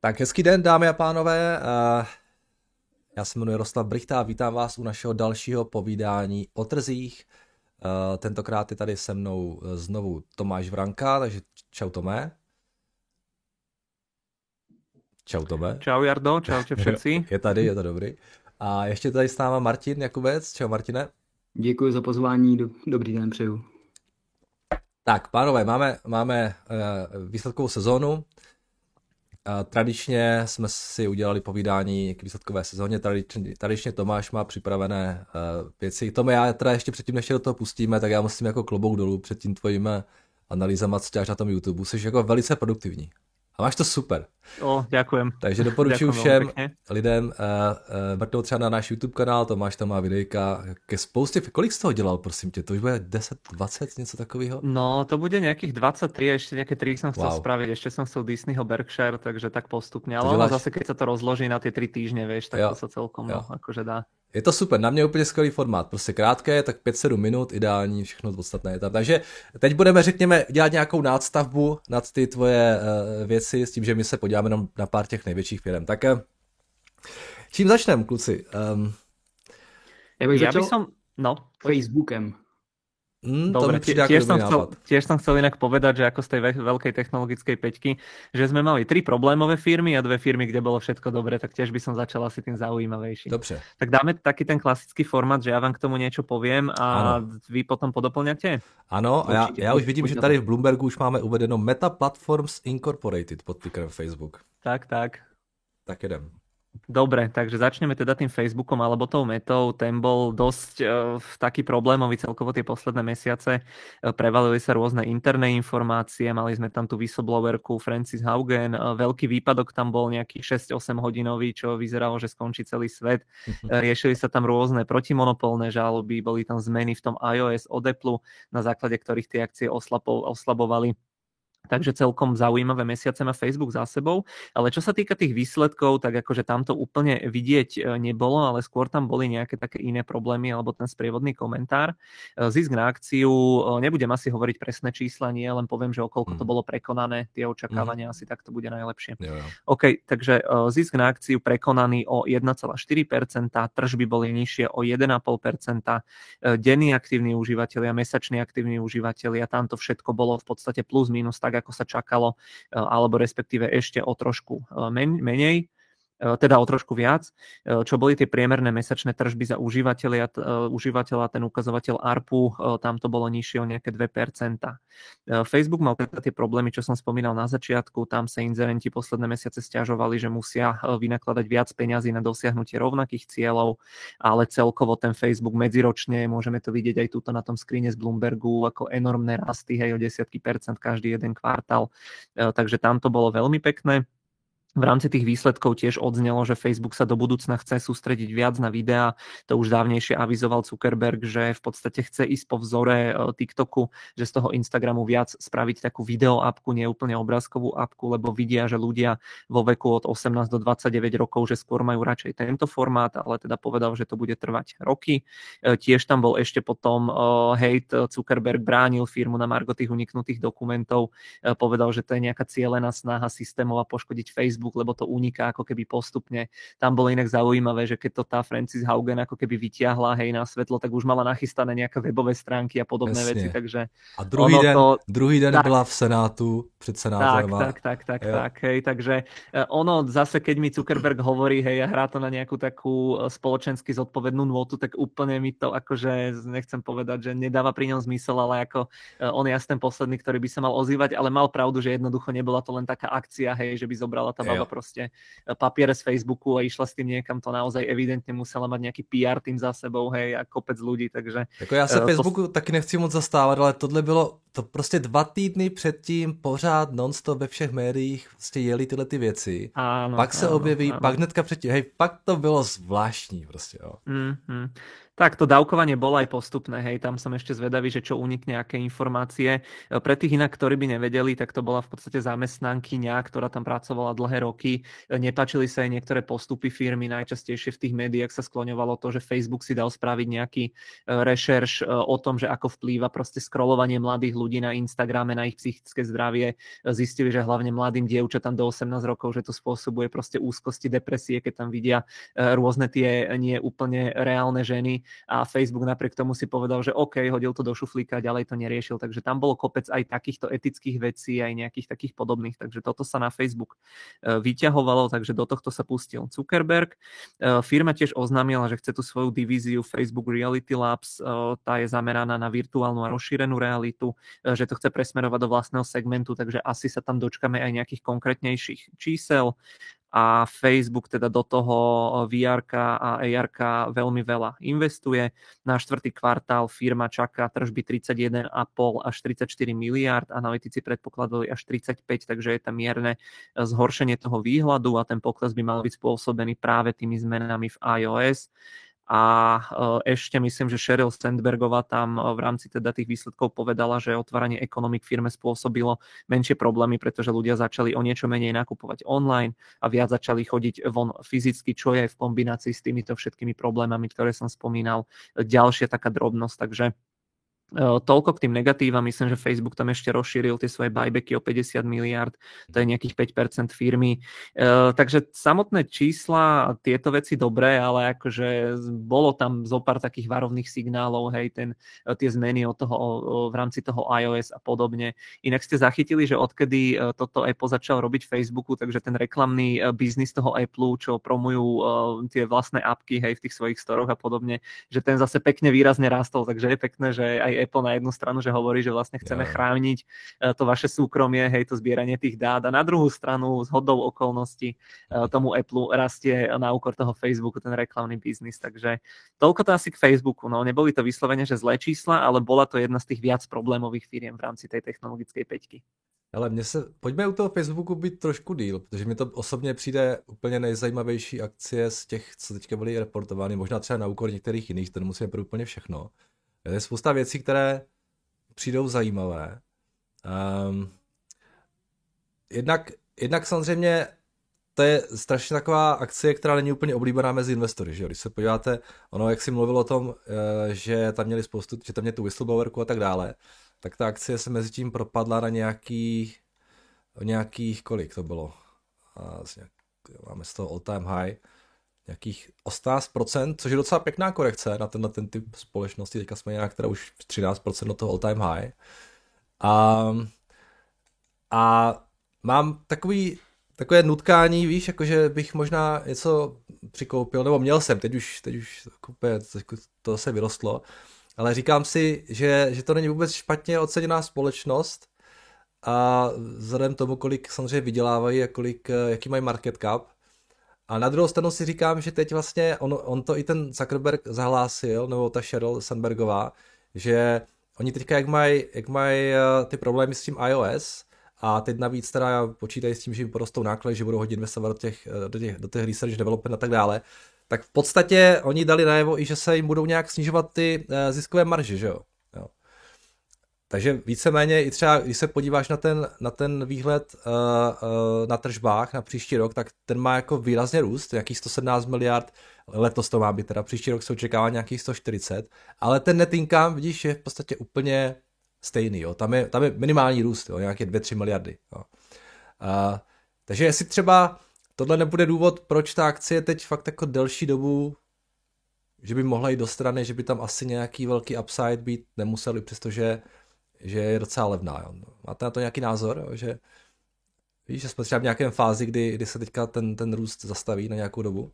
Tak hezký den, dámy a pánové. Já se jmenuji Jaroslav Brychta a vítám vás u našeho dalšího povídání o trzích. Tentokrát je tady se mnou znovu Tomáš Vranka, takže čau Tomé. Čau Tome. Čau Jardo, čaute všetci. Je to dobrý. A ještě tady s náma Martin Jakubec. Čau Martine. Děkuji za pozvání, dobrý den přeju. Tak, pánové, máme výsledkovou sezónu. Tradičně jsme si udělali povídání k výsledkové sezóně. Tradičně Tomáš má připravené věci. Tome, já teda ještě předtím, než do toho pustíme, tak já musím jako klobouk dolů před tím tvojím analýzama, co děláš na tom YouTube. Jsi jako velice produktivní. A máš to super. Ďakujem. Takže doporučuji všem lidem mrknout třeba na náš YouTube kanál, Tomáš tam má videjka ke spoustě. Kolik z toho dělal, prosím tě? To už bude 10, 20, něco takového? No, to bude nejakých 23, ešte nejaké 3 som chcel spraviť, ešte som chcel Disneyho Berkshire, takže tak postupne. Ale ono zase, keď sa to rozloží na tie 3 týždne, vieš, tak to sa celkom akože dá. Je to super, na mě úplně skvělý formát, prostě krátké, tak 5-7 minut, ideální, všechno podstatné je tam. Takže teď budeme, řekněme, dělat nějakou nástavbu nad ty tvoje věci, s tím, že my se podíváme na pár těch největších firm. Tak čím začneme, kluci? Já bych začal Facebookem. Dobre, tiež som chcel inak povedať, že ako z tej veľkej technologickej peťky, že sme mali 3 problémové firmy a 2 firmy, kde bolo všetko dobre, tak tiež by som začal asi tým zaujímavejším. Dobře. Tak dáme taký ten klasický formát, že ja vám k tomu niečo poviem a vy potom podoplňate? Ano, a já už vidím, že tady v Bloombergu už máme uvedeno Meta Platforms Incorporated pod tickerem Facebook. Tak. Tak jedem. Dobre, takže začneme teda tým Facebookom alebo tou Metou. Ten bol dosť taký problémový celkovo tie posledné mesiace. Prevalili sa rôzne interné informácie, mali sme tam tú whistleblowerku Frances Haugen, veľký výpadok tam bol nejaký 6-8 hodinový, čo vyzeralo, že skončí celý svet. Riešili sa tam rôzne protimonopolné žaloby, boli tam zmeny v tom iOS od Apple, na základe ktorých tie akcie oslabovali. Takže celkom zaujímavé mesiace má Facebook za sebou, ale čo sa týka tých výsledkov, tak akože tam to úplne vidieť nebolo, ale skôr tam boli nejaké také iné problémy alebo ten sprievodný komentár. Zisk na akciu, nebudem asi hovoriť presné čísla, nie, len poviem, že okolko to bolo prekonané, tie očakávania asi tak to bude najlepšie. Jo. OK, takže zisk na akciu prekonaný o 1,4%, tržby boli nižšie o 1,5%, denní aktívni užívateľia, mesační aktívni užívateľia, tam to všetko bolo v podstate plus minus tak, ako sa čakalo, alebo respektíve ešte o trošku menej, teda o trošku viac. Čo boli tie priemerné mesačné tržby za užívateľa, ten ukazovateľ ARPU, tam to bolo nižšie o nejaké 2%. Facebook mal teda tie problémy, čo som spomínal na začiatku, tam sa inzerenti posledné mesiace sťažovali, že musia vynakladať viac peňazí na dosiahnutie rovnakých cieľov, ale celkovo ten Facebook medziročne, môžeme to vidieť aj tuto na tom screene z Bloombergu, ako enormné rasty, hej, o 10% každý jeden kvartál. Takže tam to bolo veľmi pekné. V rámci tých výsledkov tiež odznelo, že Facebook sa do budúcna chce sústrediť viac na videá. To už dávnejšie avizoval Zuckerberg, že v podstate chce ísť po vzore TikToku, že z toho Instagramu viac spraviť takú video apku, nie úplne obrázkovú apku, lebo vidia, že ľudia vo veku od 18 do 29 rokov, že skôr majú radšej tento formát, ale teda povedal, že to bude trvať roky. Tiež tam bol ešte potom hejt, Zuckerberg bránil firmu na margo tých uniknutých dokumentov, povedal, že to je nejaká cielená snaha systémova poškodiť Facebook, lebo to uniká ako keby postupne. Tam bolo inak zaujímavé, že keď to tá Frances Haugen ako keby vytiahla, hej, na svetlo, tak už mala nachystané nejaké webové stránky a podobné veci, takže... A druhý den byla v Senátu, před senátorem. Tak, hej, takže ono zase, keď mi Zuckerberg hovorí, hej, a hrá to na nejakú takú spoločensky zodpovednú nôtu, tak úplne mi to akože, nechcem povedať, že nedáva pri ňom zmysel, ale ako on je asi ten posledný, ktorý by sa mal ozývať, ale mal pravdu, že jednoducho nebola to len taká akcia, hej, že by zobrala tá baba proste papiere z Facebooku a išla s tým niekam, to naozaj evidentne musela mať nejaký PR tým za sebou, hej, a kopec ľudí, takže... Jako já se Facebooku taky nechci moc zastávat, ale tohle bylo to prostě 2 týdny předtím pořád non-stop ve všech médiích prostě jeli tyhle ty věci. Áno, pak se objeví, pak hnedka předtím, hej, pak to bylo zvláštní prostě, jo. Tak to dávkovanie bolo aj postupné, hej, tam som ešte zvedavý, že čo unikne, aké informácie. Pre tých inak, ktorí by nevedeli, tak to bola v podstate zamestnankyňa, ktorá tam pracovala dlhé roky. Nepáčili sa aj niektoré postupy firmy, najčastejšie v tých médiách sa skloňovalo to, že Facebook si dal spraviť nejaký rešerš o tom, že ako vplýva proste scrollovanie mladých ľudí na Instagrame, na ich psychické zdravie. Zistili, že hlavne mladým dievčatám do 18 rokov, že to spôsobuje proste úzkosti, depresie, keď tam vidia rôzne tie nie úplne reálne ženy a Facebook napriek tomu si povedal, že OK, hodil to do šuflíka, ďalej to neriešil. Takže tam bolo kopec aj takýchto etických vecí, aj nejakých takých podobných. Takže toto sa na Facebook vyťahovalo, takže do tohto sa pustil Zuckerberg. Firma tiež oznámila, že chce tú svoju divíziu Facebook Reality Labs, tá je zameraná na virtuálnu a rozšírenú realitu, že to chce presmerovať do vlastného segmentu, takže asi sa tam dočkame aj nejakých konkrétnejších čísel. A Facebook teda do toho VR-ka a AR-ka veľmi veľa investuje. Na štvrtý kvartál firma čaká tržby 31,5 až 34 miliárd, analytici predpokladali až 35, takže je tam mierne zhoršenie toho výhľadu a ten pokles by mal byť spôsobený práve tými zmenami v iOS. A ešte myslím, že Sheryl Sandbergová tam v rámci teda tých výsledkov povedala, že otváranie ekonomik firme spôsobilo menšie problémy, pretože ľudia začali o niečo menej nakupovať online a viac začali chodiť von fyzicky, čo je v kombinácii s týmito všetkými problémami, ktoré som spomínal, ďalšia taká drobnosť. Takže toľko k tým negatívam. Myslím, že Facebook tam ešte rozšíril tie svoje buybacky o 50 miliard, to je nejakých 5% firmy. Takže samotné čísla, tieto veci dobré, ale akože bolo tam zopár takých varovných signálov, hej, tie zmeny od toho, v rámci toho iOS a podobne. Inak ste zachytili, že odkedy toto Apple začal robiť Facebooku, takže ten reklamný biznis toho Apple, čo promujú tie vlastné apky, hej, v tých svojich storoch a podobne, že ten zase pekne výrazne rástol, takže je pekné, že aj Apple na jednu stranu, že hovorí, že vlastne chceme chrániť to vaše súkromie, hej, to zbieranie tých dát a na druhú stranu s hodou okolností tomu Apple rastie na úkor toho Facebooku ten reklamný biznis, takže toľko to asi k Facebooku, no neboli to vyslovene, že zlé čísla, ale bola to jedna z tých viac problémových firiem v rámci tej technologickej peťky. Ale pojďme u toho Facebooku být trošku díl, protože mi to osobně přijde úplně nejzajímavější akcie z těch, co teďka byly reportovány, možná třeba na úkor některých jiných, to nemusíme pro úplně všechno. Je spousta věcí, které přijdou zajímavé. Jednak samozřejmě to je strašně taková akcie, která není úplně oblíbená mezi investory. Že? Když se podíváte, ono, jak si mluvil o tom, že tam měli že tam měli tu whistleblowerku a tak dále, tak ta akcie se mezi tím propadla na nějakých kolik to bylo? Máme z toho all time high. Nějakých 18%, což je docela pěkná korekce na ten typ společnosti. Teďka jsme nějak teda už 13% do toho all time high. A mám takové nutkání, víš, jakože bych možná něco přikoupil, nebo měl jsem, teď už to se vyrostlo, ale říkám si, že to není vůbec špatně oceněná společnost a vzhledem tomu, kolik samozřejmě vydělávají a jaký mají market cap. A na druhou stranu si říkám, že teď vlastně on to i ten Zuckerberg zahlásil, nebo ta Sheryl Sandbergová, že oni teďka jak mají ty problémy s tím iOS a teď navíc teda počítají s tím, že jim porostou náklady, že budou hodně investovat do těch research development a tak dále, tak v podstatě oni dali najevo i, že se jim budou nějak snižovat ty ziskové marže, že jo. Takže víceméně i třeba, když se podíváš na ten výhled na tržbách na příští rok, tak ten má jako výrazně růst, nějakých 117 miliard, letos to má být, teda příští rok se očekává nějakých 140, ale ten net income, vidíš, je v podstatě úplně stejný, jo. Tam je minimální růst, jo, nějaké 2-3 miliardy. Jo. Takže jestli třeba tohle nebude důvod, proč ta akcie teď fakt jako delší dobu, že by mohla jít do strany, že by tam asi nějaký velký upside být nemuseli, přestože že je docela levná. Jo. Máte na to nějaký názor? Jo? Že víš, že jsme třeba v nějakém fázi, kdy se teďka ten růst zastaví na nějakou dobu?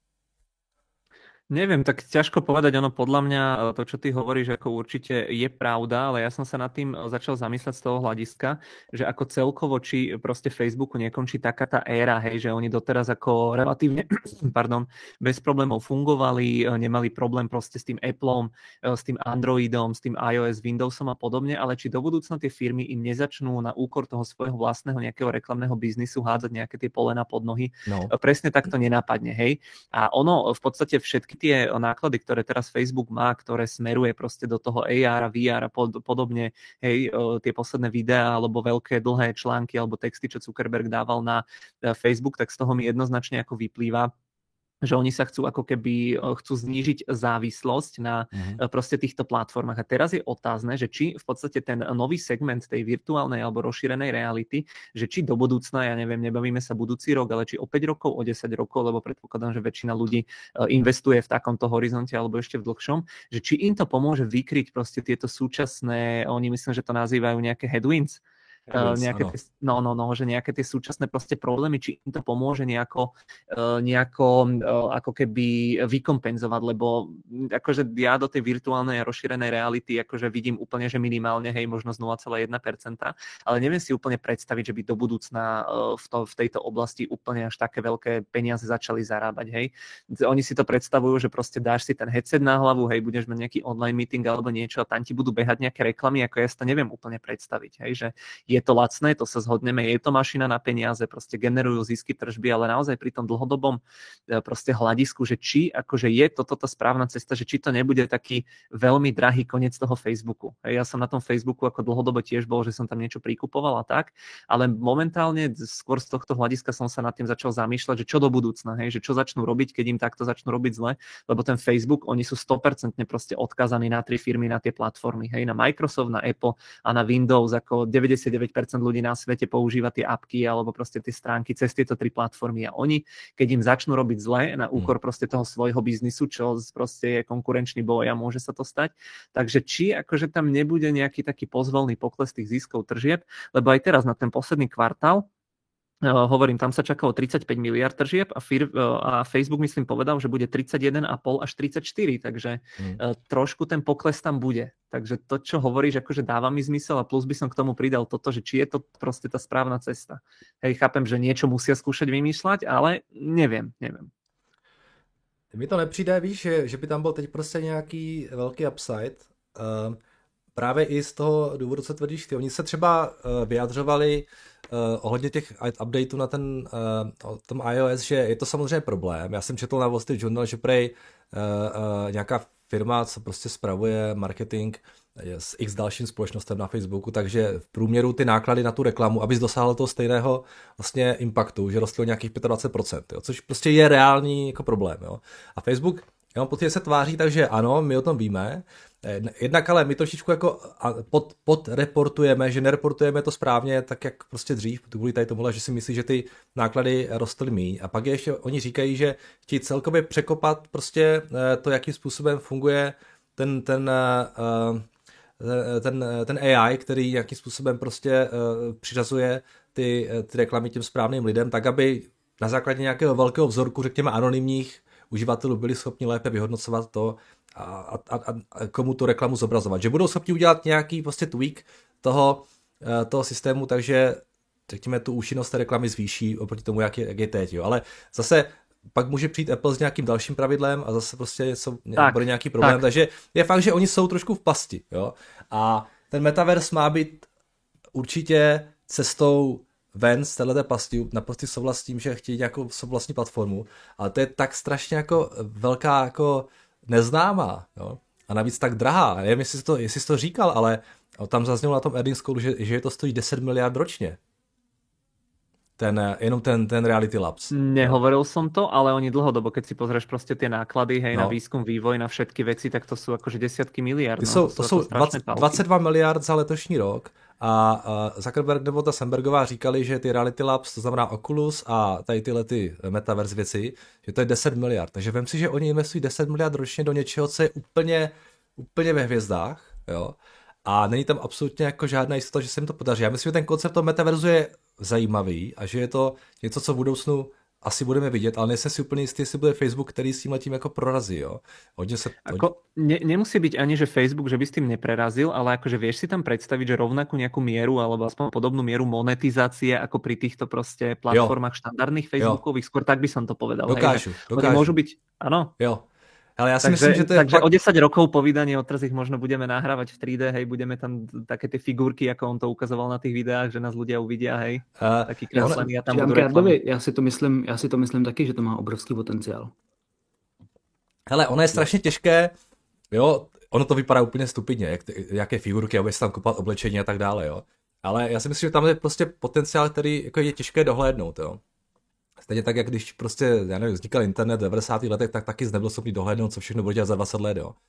Neviem, tak ťažko povedať, ono podľa mňa to, čo ty hovoríš, ako určite je pravda, ale ja som sa nad tým začal zamýšľať z toho hľadiska, že ako celkovo, či proste Facebooku nekončí taká tá éra, hej, že oni doteraz ako relatívne bez problémov fungovali, nemali problém proste s tým Appleom, s tým Androidom, s tým iOS, Windowsom a podobne, ale či do budúcna tie firmy im nezačnú na úkor toho svojho vlastného nejakého reklamného biznisu hádzať nejaké tie polena pod nohy. No. Presne tak to nenápadne, hej. A ono v podstate všetky tie náklady, ktoré teraz Facebook má, ktoré smeruje proste do toho AR a VR a podobne, hej, tie posledné videá alebo veľké dlhé články alebo texty, čo Zuckerberg dával na Facebook, tak z toho mi jednoznačne ako vyplýva, že oni sa chcú ako keby znížiť závislosť na proste týchto platformách. A teraz je otázne, že či v podstate ten nový segment tej virtuálnej alebo rozšírenej reality, že či do budúcna, ja neviem, nebavíme sa budúci rok, ale či o 5 rokov, o 10 rokov, lebo predpokladám, že väčšina ľudí investuje v takomto horizonte alebo ešte v dlhšom, že či im to pomôže vykryť proste tieto súčasné, oni myslím, že to nazývajú nejaké headwinds, že nejaké tie súčasné proste problémy, či im to pomôže nejako ako keby vykompenzovať, lebo akože ja do tej virtuálnej a rozšírenej reality akože vidím úplne, že minimálne, hej, možno z 0,1%, ale neviem si úplne predstaviť, že by do budúcna v tejto oblasti úplne až také veľké peniaze začali zarábať, hej. Oni si to predstavujú, že proste dáš si ten headset na hlavu, hej, budeš mať nejaký online meeting alebo niečo a tam ti budú behať nejaké reklamy, ako ja si to neviem úplne predstaviť, hej, že je to lacné, to sa zhodneme, je to mašina na peniaze, proste generujú zisky tržby, ale naozaj pri tom dlhodobom proste hľadisku, že či akože je toto tá správna cesta, že či to nebude taký veľmi drahý koniec toho Facebooku. Ja som na tom Facebooku ako dlhodobo tiež bol, že som tam niečo prikupoval a tak, ale momentálne skôr z tohto hľadiska som sa nad tým začal zamýšľať, že čo do budúcna, hej, že čo začnú robiť, keď im takto začnú robiť zle, lebo ten Facebook, oni sú 100% proste odkazaní na 3 firmy, na tie platformy, hej, na Microsoft, na Apple a na Windows, ako 99% ľudí na svete používa tie apky alebo proste tie stránky cez tieto 3 platformy a oni, keď im začnú robiť zle na úkor proste toho svojho biznisu, čo proste je konkurenčný boj a môže sa to stať, takže či akože tam nebude nejaký taký pozvolný pokles tých ziskov tržieb, lebo aj teraz na ten posledný kvartál hovorím, tam sa čakalo 35 miliard tržieb a Facebook myslím povedal, že bude 31,5 až 34, takže trošku ten pokles tam bude. Takže to, čo hovoríš, akože dáva mi zmysel a plus by som k tomu pridal toto, že či je to proste tá správna cesta. Hej, chápem, že niečo musia skúšať vymýšľať, ale neviem. Mi to nepřijde, víš, že by tam byl teď prostě nějaký velký upside. Právě i z toho důvodu, co tvrdíš ty. Oni se třeba vyjadřovali ohledně těch updateů na tom iOS, že je to samozřejmě problém. Já jsem četl na Wall Street Journal, že prej nějaká firma, co prostě spravuje marketing s x dalším společnostem na Facebooku, takže v průměru ty náklady na tu reklamu, abys dosáhl toho stejného vlastně impaktu, že rostly o nějakých 25%, jo, což prostě je reálný jako problém. Jo. A Facebook, já mám pocit, že se tváří, takže ano, my o tom víme, jednak ale my trošičku jako podreportujeme, že nereportujeme to správně tak, jak prostě dřív, kvůli tady tomuhle, že si myslí, že ty náklady rostly míň. A pak ještě oni říkají, že chtějí celkově překopat prostě to, jakým způsobem funguje ten AI, který nějakým způsobem prostě přiřazuje ty reklamy těm správným lidem, tak aby na základě nějakého velkého vzorku, řekněme anonymních uživatelů, byli schopni lépe vyhodnocovat to a komu tu reklamu zobrazovat. Že budou schopni udělat nějaký prostě tweak toho systému, takže řekněme tu účinnost té reklamy zvýší oproti tomu, jak je teď. Jo. Ale zase pak může přijít Apple s nějakým dalším pravidlem a zase prostě bude nějaký problém. Takže je fakt, že oni jsou trošku v pasti. Jo. A ten metaverse má být určitě cestou ven z téhleté pasti, naprosto souhlasím, že chtějí nějakou vlastní platformu, ale to je tak strašně jako velká jako neznámá, jo? A navíc tak drahá. Nevím, jestli jsi to říkal, ale tam zaznělo na tom earnings callu, že to stojí 10 miliard ročně. Jenom ten Reality Labs. Nehovoril som to, ale oni dlhodobo, keď si pozrieš proste tie náklady, hej, na výskum, vývoj, na všetky veci, tak to sú akože desiatky miliard. To sú 22 miliard za letošní rok a Zuckerberg nebo ta Sandbergová říkali, že ty Reality Labs, to znamená Oculus a tady tyhle ty metaverse věci, že to je 10 miliard. Takže vem si, že oni investují 10 miliard ročně do něčeho, co je úplně ve hvězdách, jo. A není tam absolutně jako žádná jistota, že se jim to podaří. Já myslím, že ten koncept toho metaverzu je zajímavý a že je to něco, co v budoucnu asi budeme vidět, ale nejsem si úplně jistý, jestli bude Facebook, který s tímhletím jako prorazí. Jo? Nemusí byť ani, že Facebook, že by s tým neprerazil, ale akože vieš si tam predstaviť, že rovnakú nejakú mieru alebo aspoň podobnú mieru monetizácie ako pri týchto proste platformách štandardných Facebookových, skôr tak by som to povedal. Dokážu. Môžu byť, áno. Jo. Ale ja si myslím, že to je takže o 10 rokov po vydaní Odtraz ich možno budeme nahrávať v 3D, hej, budeme tam také tie figurky, ako on to ukazoval na tých videách, že nás ľudia uvidia, hej, taký kreslený a tam budú reklamy. Já si to myslím taky, že to má obrovský potenciál. Hele, ono je strašně těžké, jo, ono to vypadá úplně stupidně, jaké figurky, aby se tam kupovat oblečení a tak dále, jo. Ale já si myslím, že tam je prostě potenciál, který jako je těžké dohlédnout, jo. Stejně tak, jak když prostě, já nevím, vznikal internet v 90. letech, tak taky nebyl schopný dohlédnout, co všechno bude dělat za 20 let, jo.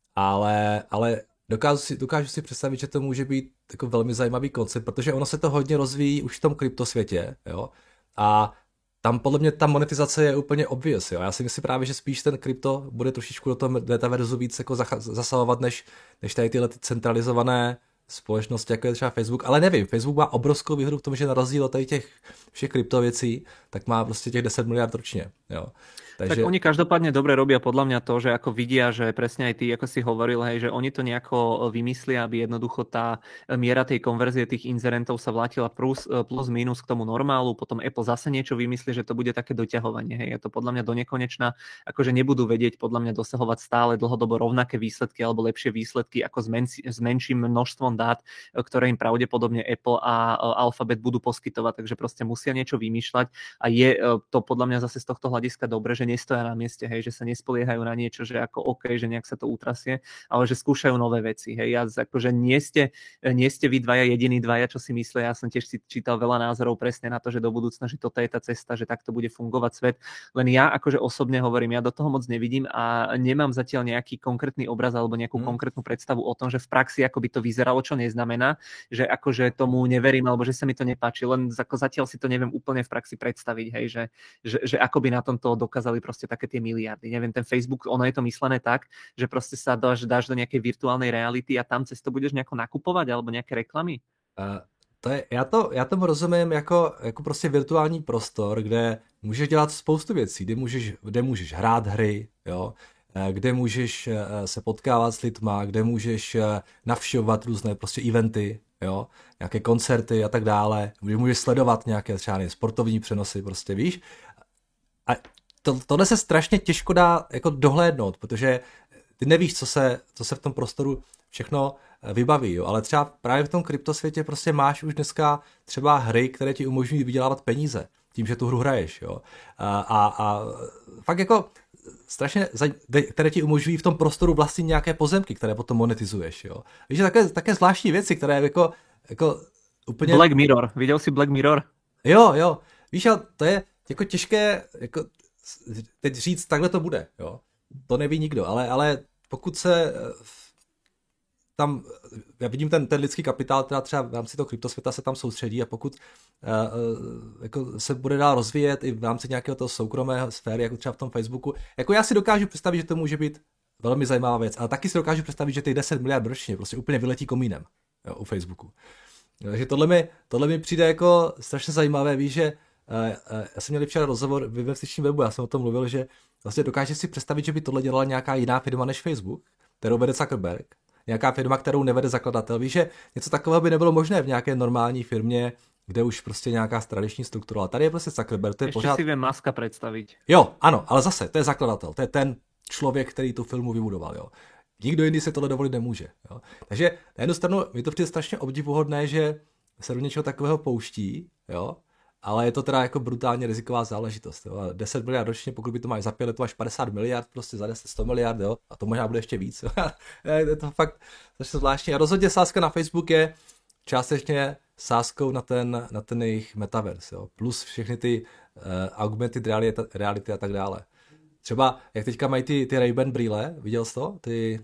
Ale dokážu si představit, že to může být jako velmi zajímavý koncept, protože ono se to hodně rozvíjí už v tom kryptosvětě, jo. A tam podle mě ta monetizace je úplně obvious, jo. Já si myslím právě, že spíš ten krypto bude trošičku do toho metaverzu víc jako zasahovat, než tady tyhle ty centralizované společnosti, jako je třeba Facebook, ale nevím, Facebook má obrovskou výhodu v tom, že na rozdíl od těch všech kryptověcí, tak má prostě těch 10 miliard ročně, jo. Takže... Tak oni každopádne dobre robia podľa mňa to, že ako vidia, že presne aj ty, ako si hovoril, hej, že oni to nejako vymyslia, aby jednoducho tá miera tej konverzie tých inzerentov sa vrátila plus minus k tomu normálu, potom Apple zase niečo vymyslí, že to bude také doťahovanie, hej, je to podľa mňa donekonečná, akože nebudú vedieť podľa mňa dosahovať stále dlhodobo rovnaké výsledky alebo lepšie výsledky ako s menším množstvom dát, ktoré im pravdepodobne Apple a Alphabet budú poskytovať, takže proste musia niečo vymýšľať a je to podľa mňa zase z tohto hľadiska dobre, že nestoja na mieste, hej, že sa nespoliehajú na niečo, že ako OK, že nejak sa to utrasie, ale že skúšajú nové veci, hej. Ja akože nie ste vy dvaja jediní dvaja, čo si myslia, ja som tiež si čítal veľa názorov presne na to, že do budúcna, že toto je tá cesta, že takto bude fungovať svet. Len ja akože osobne hovorím, ja do toho moc nevidím a nemám zatiaľ nejaký konkrétny obraz alebo nejakú konkrétnu predstavu o tom, že v praxi ako by to vyzeralo, čo neznamená, že akože tomu neverím alebo že sa mi to nepáči, len ako zatiaľ si to neviem úplne v praxi predstaviť, hej, že ako by na tomto dokázali proste také tie miliardy. Neviem, ten Facebook, ono je to myslené tak, že proste sa dáš do nejakej virtuálnej reality a tam cez to budeš nejako nakupovať alebo nejaké reklamy? Já tomu rozumím jako prostě virtuální prostor, kde můžeš dělat spoustu věcí, kde můžeš hrát hry, jo, kde můžeš se potkávat s lidma, kde můžeš navštěvovat různé prostě eventy, jo, nějaké koncerty a tak dále, kde můžeš sledovat nějaké třeba sportovní přenosy, prostě víš. A tohle se strašně těžko dá jako dohlédnout, protože ty nevíš, co se v tom prostoru všechno vybaví, jo. Ale třeba právě v tom kryptosvětě prostě máš už dneska třeba hry, které ti umožňují vydělávat peníze tím, že tu hru hraješ, jo. A fakt jako strašně, které ti umožňují v tom prostoru vlastnit nějaké pozemky, které potom monetizuješ, jo. Víš, také zvláštní věci, které jako úplně... Black Mirror, viděl jsi Black Mirror? Jo, víš, ale to je jako těžké, jako teď říct, takhle to bude, jo. To neví nikdo, ale pokud se tam, já vidím ten lidský kapitál, která třeba v rámci toho kryptosvěta se tam soustředí a pokud jako se bude dál rozvíjet i v rámci nějakého toho soukromého sféry, jako třeba v tom Facebooku, jako já si dokážu představit, že to může být velmi zajímavá věc, ale taky si dokážu představit, že těch 10 miliard ročně prostě úplně vyletí komínem, jo, u Facebooku. Takže tohle mi přijde jako strašně zajímavé, víš, že já jsem měl včera rozhovor v investičním webu, já jsem o tom mluvil, že vlastně dokážeš si představit, že by tohle dělala nějaká jiná firma než Facebook, kterou vede Zuckerberg, nějaká firma, kterou nevede zakladatel. Víš, že něco takového by nebylo možné v nějaké normální firmě, kde už prostě nějaká tradiční struktura. Tady je prostě Zuckerberg, to je ještě pořád... si vím Muska představit. Jo, ano, ale zase, to je zakladatel, to je ten člověk, který tu firmu vybudoval, jo. Nikdo jiný si tohle dovolit nemůže, jo. Takže na jednu stranu mi to přijde strašně obdivuhodné, že se do něčeho takového pouští, jo. Ale je to teda jako brutálně riziková záležitost. Jo. 10 miliard ročně, pokud by to máš za 5 let, to máš 50 miliard, prostě za 10 100 miliard, jo. A to možná bude ještě víc. Je to fakt strašně zvláštní. A rozhodně sázka na Facebook je částečně sázkou na ten jejich metaverse, jo. Plus všechny ty augmented reality a tak dále. Třeba, jak teďka mají ty Ray-Ban brýle, viděl jsi to?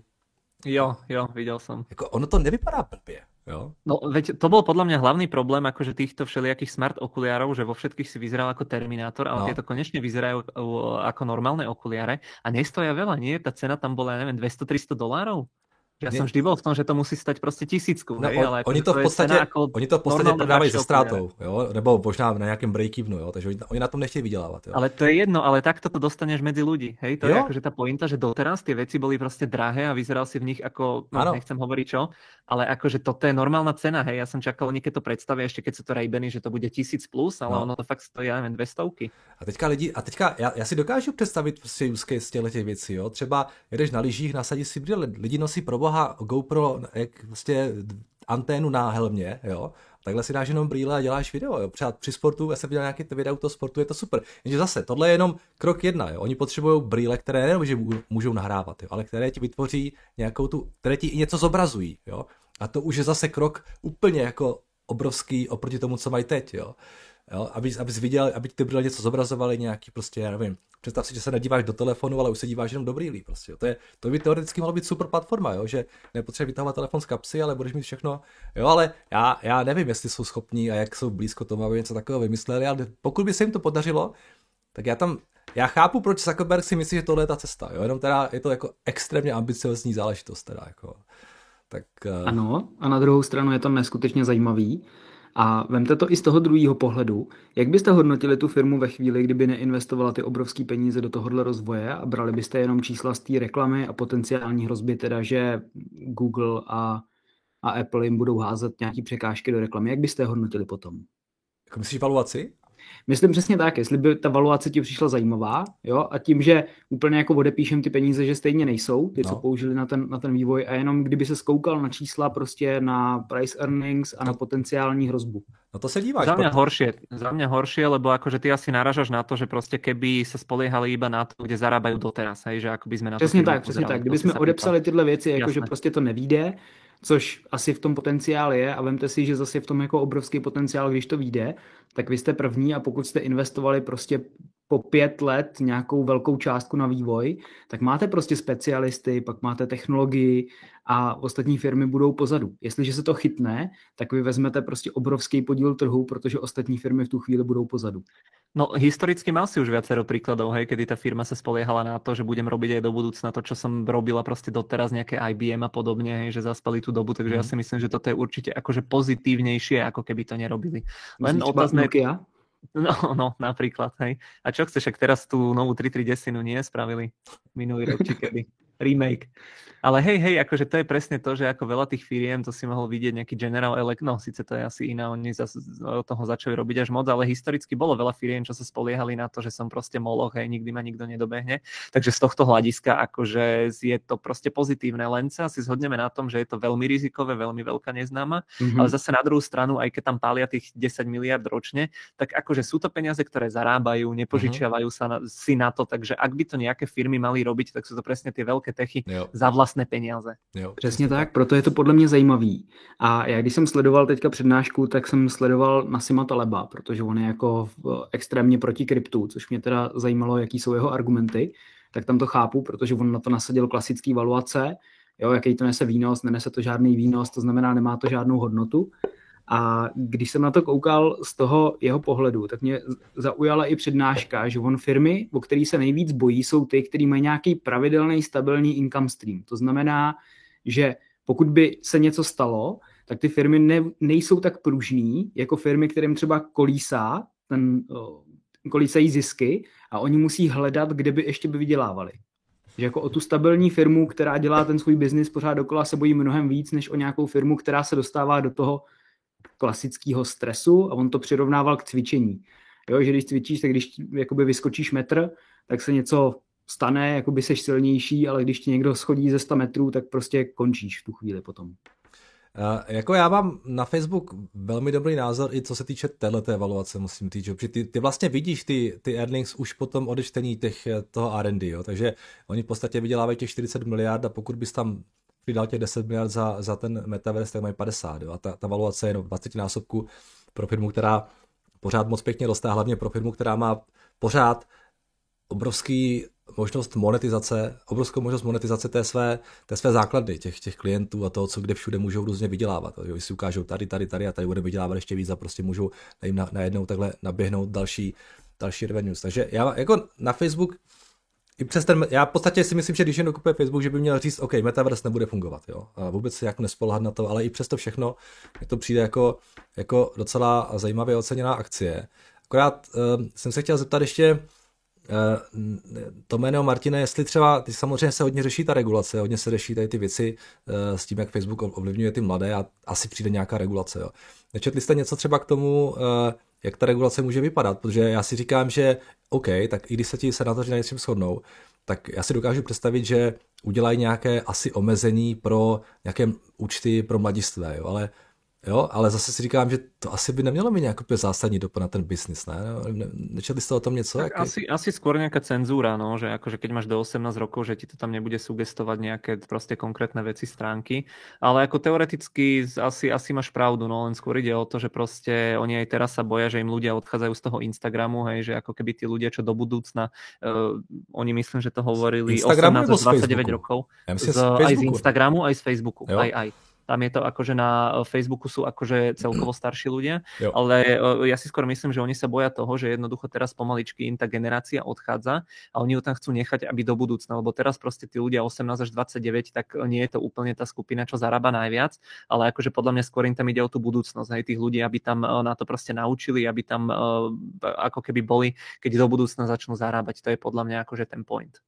Jo, viděl jsem. Jako ono to nevypadá blbě. Jo? No veď to bol podľa mňa hlavný problém akože týchto všelijakých smart okuliarov, že vo všetkých si vyzeral ako Terminátor, ale tieto konečne vyzerajú ako normálne okuliare a nestoja veľa, nie? Tá cena tam bola, ja neviem, $200-300? Ja som vždy bol v tom, že to musí stať proste 1000, no, hej, ale oni to v podstatě prodávají se ztrátou, jo? Nebo možná na nějakém break-evenu, jo? Takže oni na tom nechtějí vydělávat. Jo? Ale to je jedno, ale takto to dostaneš medzi ľudí, hej? To je akože tá pointa, že doteraz tie veci boli proste drahé a vyzeral si v nich ako, no, nechcem hovoriť čo, ale akože toto je normálna cena, hej? Ja som čakal, oni keď to predstavia, ešte keď sú to Ray-Bany, že to bude 1000 plus, ale ono to fakt stojí, ja neviem, 200. A teďka já si dokážu představit prostě use case těch věcí, jo? Třeba jedeš na lyžích, nasadíš si brýle, lidi nosí pro boha GoPro, jak vlastně anténu na helmě, jo. Takhle si dáš jenom brýle a děláš video, jo. Třeba při sportu, já jsem viděl nějaké videa u toho sportu, je to super. Jenže zase, tohle je jenom krok 1, jo. Oni potřebují brýle, které nejenom, že můžou nahrávat, jo, ale které ti vytvoří nějakou které ti i něco zobrazují, jo. A to už je zase krok úplně jako obrovský oproti tomu, co mají teď, jo. Jo? Abys viděl, aby ty brýle něco zobrazovali, nějaký prostě, já nevím, představ si, že se nedíváš do telefonu, ale už se díváš jenom do brýlí prostě. Jo? To by teoreticky mohlo být super platforma, jo? Že nepotřebuješ vytahovat telefon z kapsy, ale budeš mít všechno. Jo, ale já nevím, jestli jsou schopní a jak jsou blízko tomu, aby něco takového vymysleli, ale pokud by se jim to podařilo, tak já chápu, proč Zuckerberg si myslí, že tohle je ta cesta, jo? Jenom teda je to jako extrémně ambiciozní záležitost teda, jako. Tak, Ano, a na druhou stranu je to neskutečně zajímavý. A vemte to i z toho druhého pohledu. Jak byste hodnotili tu firmu ve chvíli, kdyby neinvestovala ty obrovské peníze do tohohle rozvoje a brali byste jenom čísla z té reklamy a potenciální hrozby teda, že Google a Apple jim budou házet nějaký překážky do reklamy? Jak byste je hodnotili potom? Jako myslíš valuaci? Myslím přesně tak, jestli by ta valuace ti přišla zajímavá, jo, a tím, že úplně jako odepíšem ty peníze, že stejně nejsou, ty, co použili na ten vývoj, a jenom kdyby se skoukal na čísla prostě na price earnings a na potenciální hrozbu. No to se díváš. Za mňa horšie, lebo akože ty asi naražaš na to, že proste keby sa spoliehali iba na to, kde zarábajú doteraz, hej, že ako by sme na to přesně tak. Kdyby jsme odepsali tyhle věci, jakože prostě to nevíde, což asi v tom potenciál je, a vemte si, že zase je v tom jako obrovský potenciál, když to vyjde, tak vy jste první, a pokud jste investovali prostě po 5 let nějakou velkou částku na vývoj, tak máte prostě specialisty, pak máte technologii a ostatní firmy budou pozadu. Jestliže se to chytne, tak vy vezmete prostě obrovský podíl trhu, protože ostatní firmy v tu chvíli budou pozadu. No historicky mal si už viacero príkladov, hej, kedy tá firma sa spoliehala na to, že budem robiť aj do budúcna to, čo som robila proste doteraz, nejaké IBM a podobne, hej, že zaspali tú dobu, takže ja si myslím, že toto je určite akože pozitívnejšie, ako keby to nerobili. Len otázne... No, napríklad, hej. A čo chceš, ak teraz tú novú 330 nie spravili minulý rok, či kedy? Remake. Ale hej, akože to je presne to, že ako veľa tých firiem, to si mohol vidieť nejaký General Electric, no síce to je asi iná, oni od toho začali robiť až moc, ale historicky bolo veľa firiem, čo sa spoliehali na to, že som proste moloch, hej, nikdy ma nikto nedobehne. Takže z tohto hľadiska akože je to proste pozitívne, len sa si zhodneme na tom, že je to veľmi rizikové, veľmi veľká neznáma, ale zase na druhú stranu, aj keď tam pália tých 10 miliard ročne, tak akože sú to peniaze, ktoré zarábajú, nepožičiavajú sa si na to, takže ak by to nejaké firmy mali robiť, tak sú to presne tie veľké techy za vlastné peniaze. Jo, přesně tak, proto je to podle mě zajímavý. A já když jsem sledoval teďka přednášku, tak jsem sledoval Nassima Taleba, protože on je jako extrémně proti kryptu, což mě teda zajímalo, jaký jsou jeho argumenty, tak tam to chápu, protože on na to nasadil klasický valuace, jo, jaký to nese výnos, nenese to žádný výnos, to znamená, nemá to žádnou hodnotu. A když jsem na to koukal z toho jeho pohledu, tak mě zaujala i přednáška, že on firmy, o který se nejvíc bojí, jsou ty, který mají nějaký pravidelný, stabilní income stream. To znamená, že pokud by se něco stalo, tak ty firmy nejsou tak pružný, jako firmy, kterým třeba kolísají zisky a oni musí hledat, kde by ještě vydělávali. Že jako o tu stabilní firmu, která dělá ten svůj biznis pořád dokola, se bojí mnohem víc, než o nějakou firmu, která se dostává do toho klasického stresu, a on to přirovnával k cvičení. Jo, že když cvičíš, tak když jakoby vyskočíš metr, tak se něco stane, jakoby seš silnější, ale když ti někdo schodí ze 100 metrů, tak prostě končíš v tu chvíli potom. Jako já mám na Facebook velmi dobrý názor, i co se týče téhleté evaluace, musím říct, že ty vlastně vidíš ty earnings už potom odečtení toho R&D, jo? Takže oni v podstatě vydělávají těch 40 miliard a pokud bys tam přidal těch 10 miliard za ten metaverse, tak mají 50. Jo? A ta valuace je 20 násobku pro firmu, která pořád moc pěkně roste, hlavně pro firmu, která má pořád obrovskou možnost monetizace té své základny, těch klientů a toho, co kde všude můžou různě vydělávat. Jo? Si ukážou tady a tady bude vydělávat ještě víc a prostě můžou jim najednou takhle naběhnout další revenues. Takže já jako na Facebook i přes já v podstatě si myslím, že když jen dokupuje Facebook, že by měl říct, OK, Metaverse nebude fungovat, jo. A vůbec se jako nespoléhat na to, ale i přesto všechno mi to přijde jako docela zajímavě oceněná akcie. Akorát jsem se chtěl zeptat ještě Tomeno, Martine, jestli třeba, ty samozřejmě se hodně řeší ta regulace, hodně se řeší tady ty věci s tím, jak Facebook ovlivňuje ty mladé a asi přijde nějaká regulace, jo. Nečetli jste něco třeba k tomu, jak ta regulace může vypadat, protože já si říkám, že OK, tak i když se ti senátoři na něčem shodnou, tak já si dokážu představit, že udělají nějaké asi omezení pro nějaké účty pro mladistvé, jo, ale Jo, ale zase si říkám, že to asi by nemělo mít nějaký zásadní dopad na ten biznis, ne? Nečetli ste o tom něco? Tak asi skôr nejaká cenzúra, no, že akože keď máš do 18 rokov, že ti to tam nebude sugestovať nejaké proste konkrétne veci, stránky, ale ako teoreticky asi máš pravdu, no, len skôr ide o to, že proste oni aj teraz sa boja, že im ľudia odchádzajú z toho Instagramu, hej, že ako keby tí ľudia, čo do budúcna, oni myslím, že to hovorili 18 až 29 rokov, aj z Instagramu, aj z Facebooku, aj. Tam je to akože na Facebooku sú akože celkovo starší ľudia, ale ja si skôr myslím, že oni sa boja toho, že jednoducho teraz pomaličky im tá generácia odchádza a oni ju tam chcú nechať, aby do budúcna, lebo teraz proste tí ľudia 18 až 29, tak nie je to úplne tá skupina, čo zarába najviac, ale akože podľa mňa skôr im tam ide o tú budúcnosť, aj tých ľudí, aby tam na to proste naučili, aby tam ako keby boli, keď do budúcna začnú zarábať. To je podľa mňa akože ten point.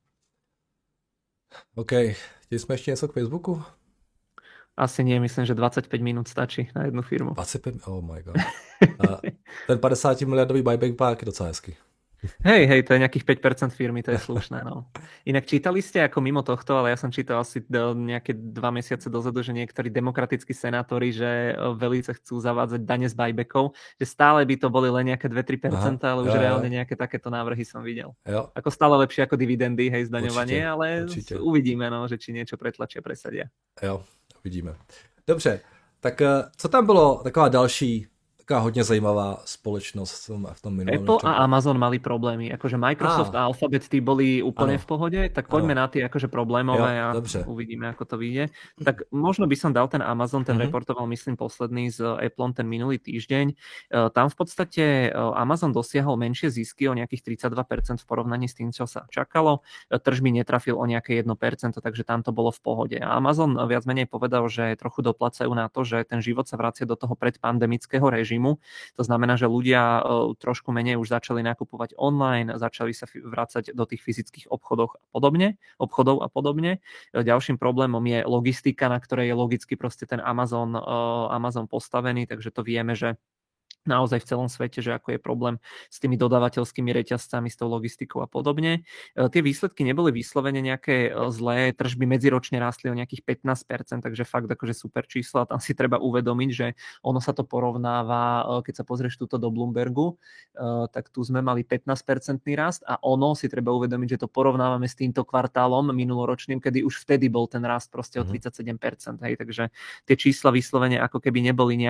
OK, chtěli jsme ještě něco k Facebooku? Asi nie, myslím, že 25 minút stačí na jednu firmu. 25? Oh my god. Ten 50 miliardový buyback park je docela hezky. Hej, to je nejakých 5% firmy, to je slušné. No. Inak čítali ste ako mimo tohto, ale ja som čítal asi nejaké 2 mesiace dozadu, že niektorí demokratickí senátori, že velice chcú zavádzať dane z buybackov, že stále by to boli len nejaké 2-3%, ale už reálne nejaké takéto návrhy som videl. Jo. Ako stále lepšie ako dividendy, hej, zdaňovanie, ale určitě. Uvidíme, no, že či niečo pretlačia, presadia. Jo, uvidíme. Dobře, tak co tam bylo taková další, taková hodně zajímavá společnosť v tom minulom? Apple a Amazon mali problémy. Akože Microsoft a Alphabet tí boli úplne v pohode, tak poďme na tie akože problémové a uvidíme, ako to vyjde. Tak možno by som dal ten Amazon, ten reportoval, myslím, posledný s Appleom ten minulý týždeň. Tam v podstate Amazon dosiahol menšie zisky o nejakých 32% v porovnaní s tým, čo sa čakalo. Tržby netrafil o nejaké 1%, takže tam to bolo v pohode. A Amazon viac menej povedal, že trochu doplacajú na to, že ten život sa vracia do toho predpandemického režimu. To znamená, že ľudia trošku menej už začali nakupovať online, začali sa vrácať do tých fyzických obchodov a podobne. Ďalším problémom je logistika, na ktorej je logicky proste ten Amazon postavený, takže to vieme, že naozaj v celom svete, že ako je problém s tými dodávateľskými reťazcami, s tou logistikou a podobne. Tie výsledky neboli vyslovene nejaké zlé, tržby medziročne rástli o nejakých 15%, takže fakt akože super čísla. Tam si treba uvedomiť, že ono sa to porovnáva, keď sa pozrieš túto do Bloombergu, tak tu sme mali 15% rast a ono si treba uvedomiť, že to porovnávame s týmto kvartálom minuloročným, kedy už vtedy bol ten rast proste o 37%. Hej, takže tie čísla vyslovene ako keby neboli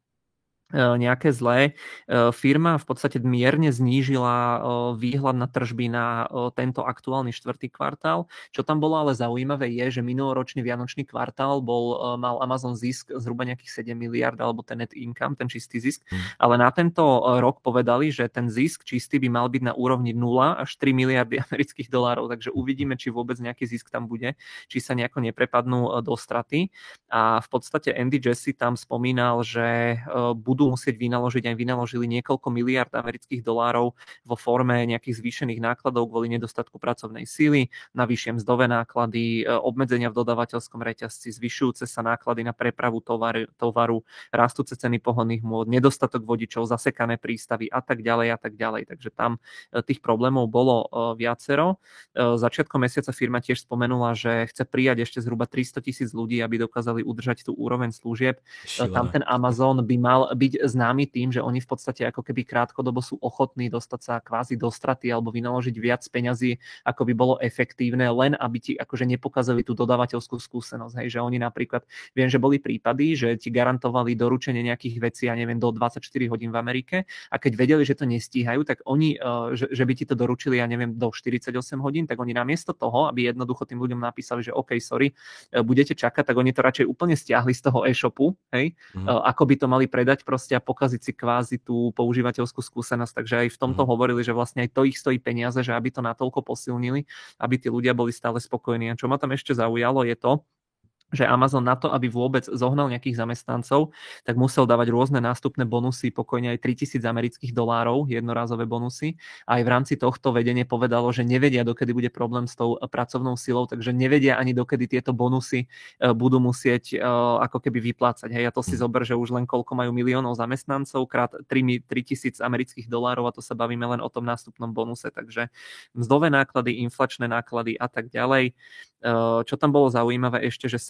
nejaké zlé. Firma v podstate mierne znížila výhľad na tržby na tento aktuálny štvrtý kvartál. Čo tam bolo ale zaujímavé je, že minuloročný vianočný kvartál mal Amazon zisk zhruba nejakých 7 miliard alebo ten net income, ten čistý zisk, ale na tento rok povedali, že ten zisk čistý by mal byť na úrovni 0 až 3 miliardy amerických dolárov, takže uvidíme, či vôbec nejaký zisk tam bude, či sa nejako neprepadnú do straty. A v podstate Andy Jassy tam spomínal, že budú musieť vynaložili niekoľko miliard amerických dolárov vo forme nejakých zvýšených nákladov kvôli nedostatku pracovnej síly, navyššie mzdové náklady, obmedzenia v dodávateľskom reťazci, zvyšujúce sa náklady na prepravu tovaru, rastúce ceny pohonných môd, nedostatok vodičov, zasekané prístavy a tak ďalej a tak ďalej. Takže tam tých problémov bolo viacero. Začiatkom mesiaca firma tiež spomenula, že chce prijať ešte zhruba 300,000 ľudí, aby dokázali udržať tú úroveň služieb. Tam ten Amazon by mal byť známy tým, že oni v podstate ako keby krátkodobo sú ochotní dostať sa kvázi do straty alebo vynaložiť viac peňazí, ako by bolo efektívne, len aby ti akože nepokazili tú dodávateľskú skúsenosť. Hej, že oni napríklad, viem, že boli prípady, že ti garantovali doručenie nejakých vecí, ja neviem, do 24 hodín v Amerike a keď vedeli, že to nestíhajú, tak oni, že by ti to doručili, ja neviem, do 48 hodín, tak oni namiesto toho, aby jednoducho tým ľuďom napísali, že OK, sorry, budete čakať, tak oni to radšej úplne stiahli z toho e-shopu, hej, ako by to mali predať proste a pokaziť si kvázi tú používateľskú skúsenosť. Takže aj v tomto hovorili, že vlastne aj to ich stojí peniaze, že aby to natoľko posilnili, aby tí ľudia boli stále spokojní. A čo ma tam ešte zaujalo je to, že Amazon na to, aby vôbec zohnal nejakých zamestnancov, tak musel dávať rôzne nástupné bonusy, pokojne aj 3,000 amerických dolárov, jednorázové bonusy. A aj v rámci tohto vedenie povedalo, že nevedia, dokedy bude problém s tou pracovnou silou, takže nevedia ani dokedy tieto bonusy budú musieť ako keby vyplácať. Hej, a to si zober, že už len koľko majú miliónov zamestnancov, krát 3,000 amerických dolárov a to sa bavíme len o tom nástupnom bonuse. Takže mzdové náklady, inflačné náklady a tak ďalej. Čo tam bolo zaujímavé ešte, že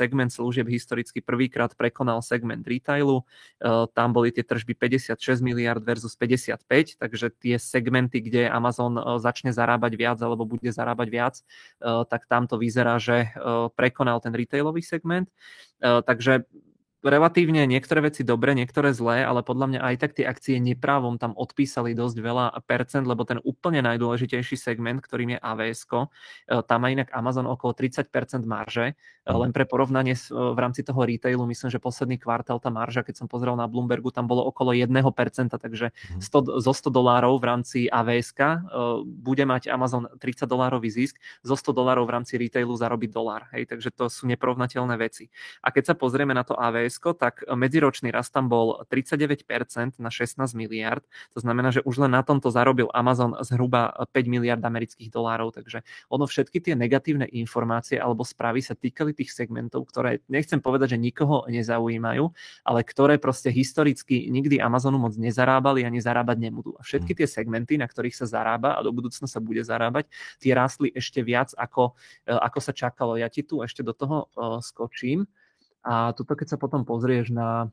segment služieb historicky prvýkrát prekonal segment retailu. Tam boli tie tržby 56 miliard versus 55, takže tie segmenty, kde Amazon začne zarábať viac alebo bude zarábať viac, tak tam to vyzerá, že prekonal ten retailový segment. Takže relatívne niektoré veci dobre, niektoré zlé, ale podľa mňa aj tak tie akcie neprávom tam odpísali dosť veľa percent, lebo ten úplne najdôležitejší segment, ktorým je AWS-ko, tam má inak Amazon okolo 30% marže. Len pre porovnanie v rámci toho retailu, myslím, že posledný kvartál tá marža, keď som pozrel na Bloombergu, tam bolo okolo 1%, takže zo $100 v rámci AWS-ka bude mať Amazon $30 zisk, zo $100 v rámci retailu zarobí $1. Hej, takže to sú neporovnateľné veci. A keď sa pozrieme na to AWS, tak medziročný rast tam bol 39% na 16 miliard. To znamená, že už len na tomto zarobil Amazon zhruba 5 miliard amerických dolárov. Takže ono všetky tie negatívne informácie alebo správy sa týkali tých segmentov, ktoré nechcem povedať, že nikoho nezaujímajú, ale ktoré proste historicky nikdy Amazonu moc nezarábali a nezarábať nebudú. A všetky tie segmenty, na ktorých sa zarába a do budúcna sa bude zarábať, tie rástli ešte viac, ako sa čakalo. Ja ti tu ešte do toho skočím. A tuto, keď sa potom pozrieš na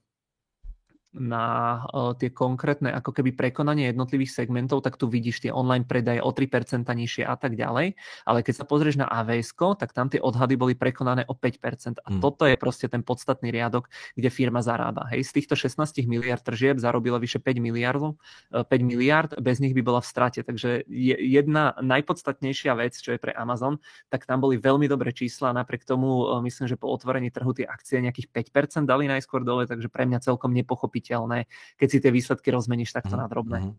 tie konkrétne ako keby prekonanie jednotlivých segmentov, tak tu vidíš tie online predaje o 3% nižšie a tak ďalej. Ale keď sa pozrieš na AWS-ko, tak tam tie odhady boli prekonané o 5%. A toto je proste ten podstatný riadok, kde firma zarába. Hej, z týchto 16 miliard tržieb zarobila vyše 5 miliard, bez nich by bola v strate. Takže jedna najpodstatnejšia vec, čo je pre Amazon, tak tam boli veľmi dobré čísla. Napriek tomu myslím, že po otvorení trhu tie akcie nejakých 5% dali najskôr dole, takže pre mňa celkom nepochopiť, keď si tie výsledky rozmeníš takto na drobné.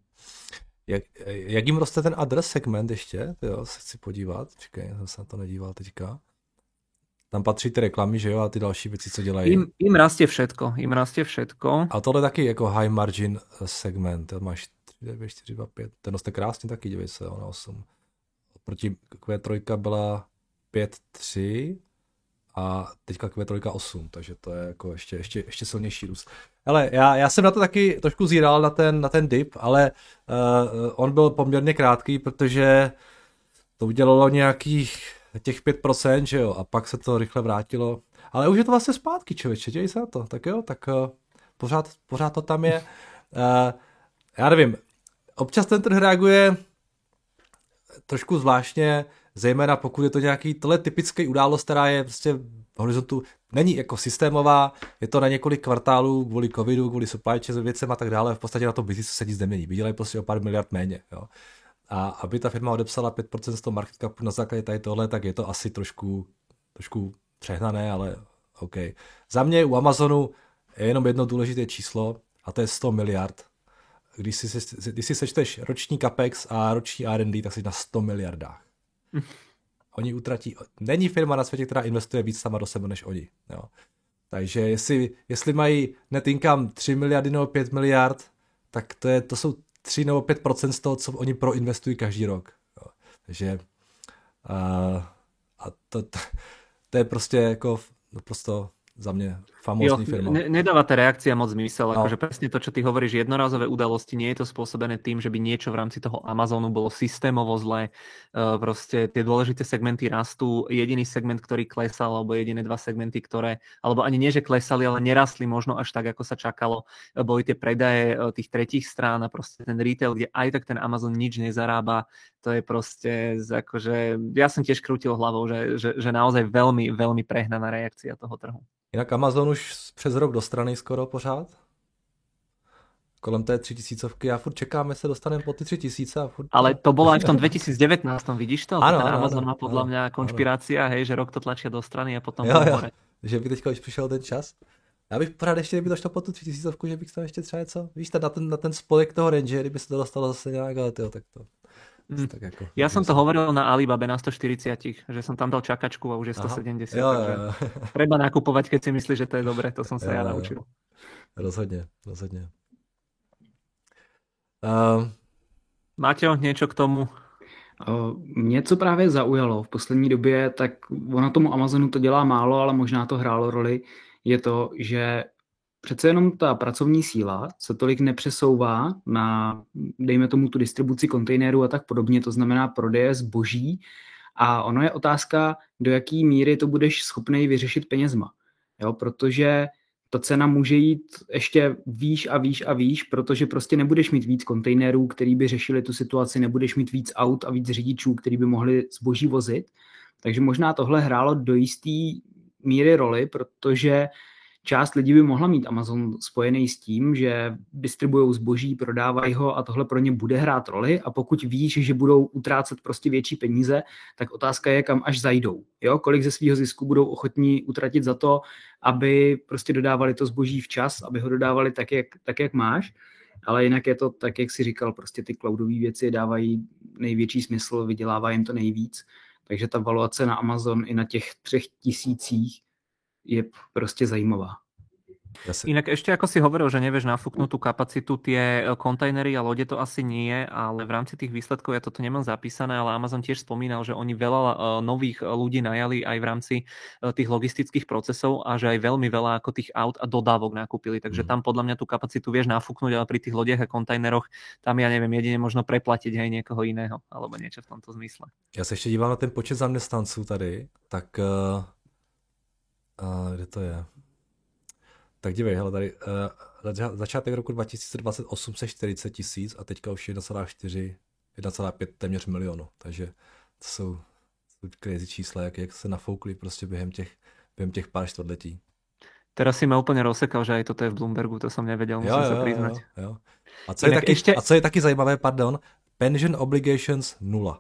Jak jim roste ten adres segment ještě? Jo, se chci podívat. Čekaj, jsem se na to nedíval teďka. Tam patří ty reklamy, že jo, a ty další věci, co dělají. Jim rastie všetko. A tohle taky jako high margin segment. Máš 4, 2, 5. Ten roste krásně taky, dívej se, na 8. Proti Q3 byla 5,3 a teďka Q3 8, takže to je jako ještě silnější růst. Ale já jsem na to taky trošku zíral na ten dip, ale on byl poměrně krátký, protože to udělalo nějakých těch 5%, že jo, a pak se to rychle vrátilo. Ale už je to vlastně zpátky, člověče, děj se na to, tak jo, tak pořád to tam je. Já nevím, občas ten trh reaguje trošku zvláštně, zejména pokud je to nějaký tohle typický událost, která je prostě v horizontu, není jako systémová, je to na několik kvartálů kvůli covidu, kvůli supply chain věcem a tak dále, v podstatě na tom biznisu se nic nemění, vydělají prostě o pár miliard méně, jo. A aby ta firma odepsala 5% z toho market capu na základě tady tohle, tak je to asi trošku přehnané, ale OK. Za mě u Amazonu je jenom jedno důležité číslo a to je 100 miliard. Když si sečteš roční capex a roční R&D, tak jsi na 100 miliardách. Oni utratí, není firma na světě, která investuje víc sama do sebe než oni. Jo. Takže jestli mají net income 3 miliardy nebo 5 miliard, tak to jsou 3 nebo 5% z toho, co oni proinvestují každý rok. Jo. Takže to je prostě jako naprosto za mňa famózny firma. Nedáva tá reakcia moc zmysel, akože presne to, čo ty hovoríš, jednorázové udalosti, nie je to spôsobené tým, že by niečo v rámci toho Amazonu bolo systémovo zlé. Proste tie dôležité segmenty rastú, jediný segment, ktorý klesal, alebo jediné dva segmenty, ktoré, alebo ani nie, že klesali, ale nerastli možno až tak, ako sa čakalo. Boli tie predaje tých tretích strán a proste ten retail, kde aj tak ten Amazon nič nezarába. To je proste, akože, ja som tiež krútil hlavou, že naozaj veľmi, veľmi prehnaná reakcia toho trhu. Jinak Amazon už přes rok do strany skoro pořád. Kolem té 3000, já furt čekám, jestli dostaneme po ty 3000. A furt... Ale to bolo aj v tom 2019, vidíš to? Ano, ten Amazon má podľa mňa konšpirácia, hej, že rok to tlačia do strany a potom hore. Že by teďka už přišel ten čas. Já bych pořád ještě, kdyby to šlo po tu 3000, že bych tam ještě třeba něco, víš, na ten spodek toho range, kdyby se to dostalo zase nějak, ale tyjo, tak to... Tak ako, ja som to hovoril na Alibabe na 140, že som tam dal čakačku a už je 170. Jo. Treba nakupovať, keď si myslíš, že to je dobre, to som sa ja naučil. Rozhodne. Máte niečo k tomu? Mě co právě zaujalo v poslední době, tak ono tomu Amazonu to dělá málo, ale možná to hrálo roli, je to, že přece jenom ta pracovní síla se tolik nepřesouvá na, dejme tomu, tu distribuci kontejnerů a tak podobně, to znamená prodeje zboží a ono je otázka, do jaký míry to budeš schopnej vyřešit penězma. Jo, protože ta cena může jít ještě výš a výš a výš, protože prostě nebudeš mít víc kontejnerů, který by řešili tu situaci, nebudeš mít víc aut a víc řidičů, který by mohli zboží vozit. Takže možná tohle hrálo do jisté míry roli, protože část lidí by mohla mít Amazon spojený s tím, že distribuují zboží, prodávají ho a tohle pro ně bude hrát roli a pokud víš, že budou utrácet prostě větší peníze, tak otázka je, kam až zajdou. Jo? Kolik ze svého zisku budou ochotní utratit za to, aby prostě dodávali to zboží včas, aby ho dodávali tak, jak máš. Ale jinak je to tak, jak jsi říkal, prostě ty cloudové věci dávají největší smysl, vydělává jim to nejvíc. Takže ta valuace na Amazon i na těch 3000 je prostě zajímavá. Inak ešte ako si hovoril, že nevieš nafúknúť tú kapacitu, tie kontajnery a lode to asi nie, ale v rámci tých výsledkov ja toto nemám zapísané, ale Amazon tiež spomínal, že oni veľa nových ľudí najali aj v rámci tých logistických procesov a že aj veľmi veľa ako tých aut a dodávok nakúpili, takže tam podľa mňa tú kapacitu vieš nafúknuť, ale pri tých lodiach a kontajneroch tam ja neviem, jedine možno preplatiť aj niekoho iného, alebo niečo v tomto zmysle. Já se ještě dívám na ten počet zaměstnanců tady, tak kde to je? Tak dívej, hele, tady začátek roku 2020 840 000 a teďka už 1,5 téměř milionu, takže to jsou crazy čísla, jak se nafoukli prostě během těch pár čtvrtletí. Teraz si ma úplne rozsekal, že aj toto je v Bloombergu, to som nevedel, musím sa priznať. Jo. A co je taky zajímavé, pension obligations 0.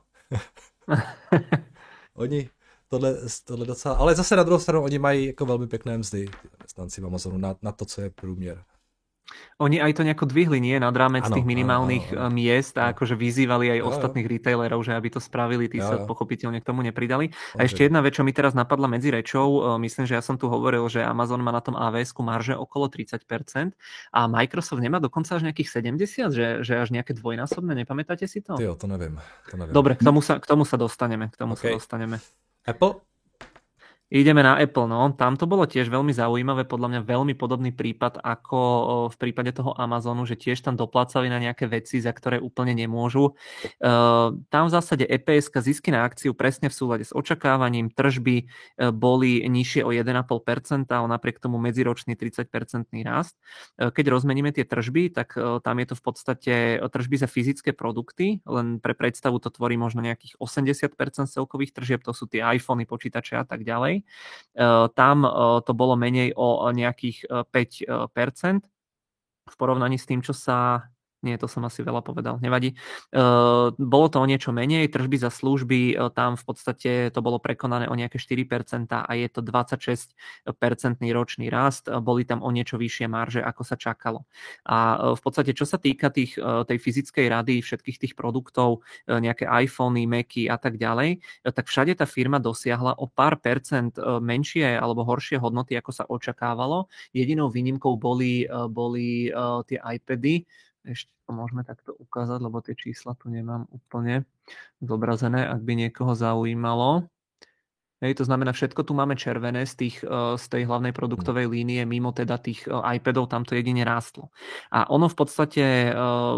Oni tohle docela, ale zase na druhou stranu oni mají jako velmi pěkné mzdy zaměstnanci v Amazonu na to, co je průměr. Oni aj to nejako dvihli, nie? Nad rámec tých minimálnych miest a akože vyzývali aj ostatných retailerov, že aby to spravili, tí sa pochopiteľne k tomu nepridali. A ešte jedna vec, čo mi teraz napadla medzi rečou, myslím, že ja som tu hovoril, že Amazon má na tom AWS-ku marže okolo 30% a Microsoft nemá dokonca až nejakých 70%, že až nejaké dvojnásobné, nepamätáte si to? Jo, to neviem. Dobre, k tomu sa dostaneme. Apple? Ideme na Apple, no. Tam to bolo tiež veľmi zaujímavé, podľa mňa veľmi podobný prípad ako v prípade toho Amazonu, že tiež tam doplácali na nejaké veci, za ktoré úplne nemôžu. Tam v zásade EPS-ka zisky na akciu presne v súlade s očakávaním, tržby boli nižšie o 1,5%, ale napriek tomu medziročný 30% rast. Keď rozmeníme tie tržby, tak tam je to v podstate tržby za fyzické produkty, len pre predstavu to tvorí možno nejakých 80% celkových tržieb, to sú tie iPhony, počítače a tak ďalej. Tam to bolo menej o nejakých 5% v porovnaní s tým, čo sa... Nie, to som asi veľa povedal, nevadí. Bolo to o niečo menej, tržby za služby, tam v podstate to bolo prekonané o nejaké 4% a je to 26% ročný rast, boli tam o niečo vyššie marže, ako sa čakalo. A v podstate, čo sa týka tej fyzickej rady, všetkých tých produktov, nejaké iPhony, Macy a tak ďalej, tak všade tá firma dosiahla o pár percent menšie alebo horšie hodnoty, ako sa očakávalo. Jedinou výnimkou boli tie iPady. Ešte to môžeme takto ukázať, lebo tie čísla tu nemám úplne zobrazené, ak by niekoho zaujímalo. To znamená, všetko tu máme červené z tej hlavnej produktovej línie, mimo teda tých iPadov, tam to jedine rástlo. A ono v podstate...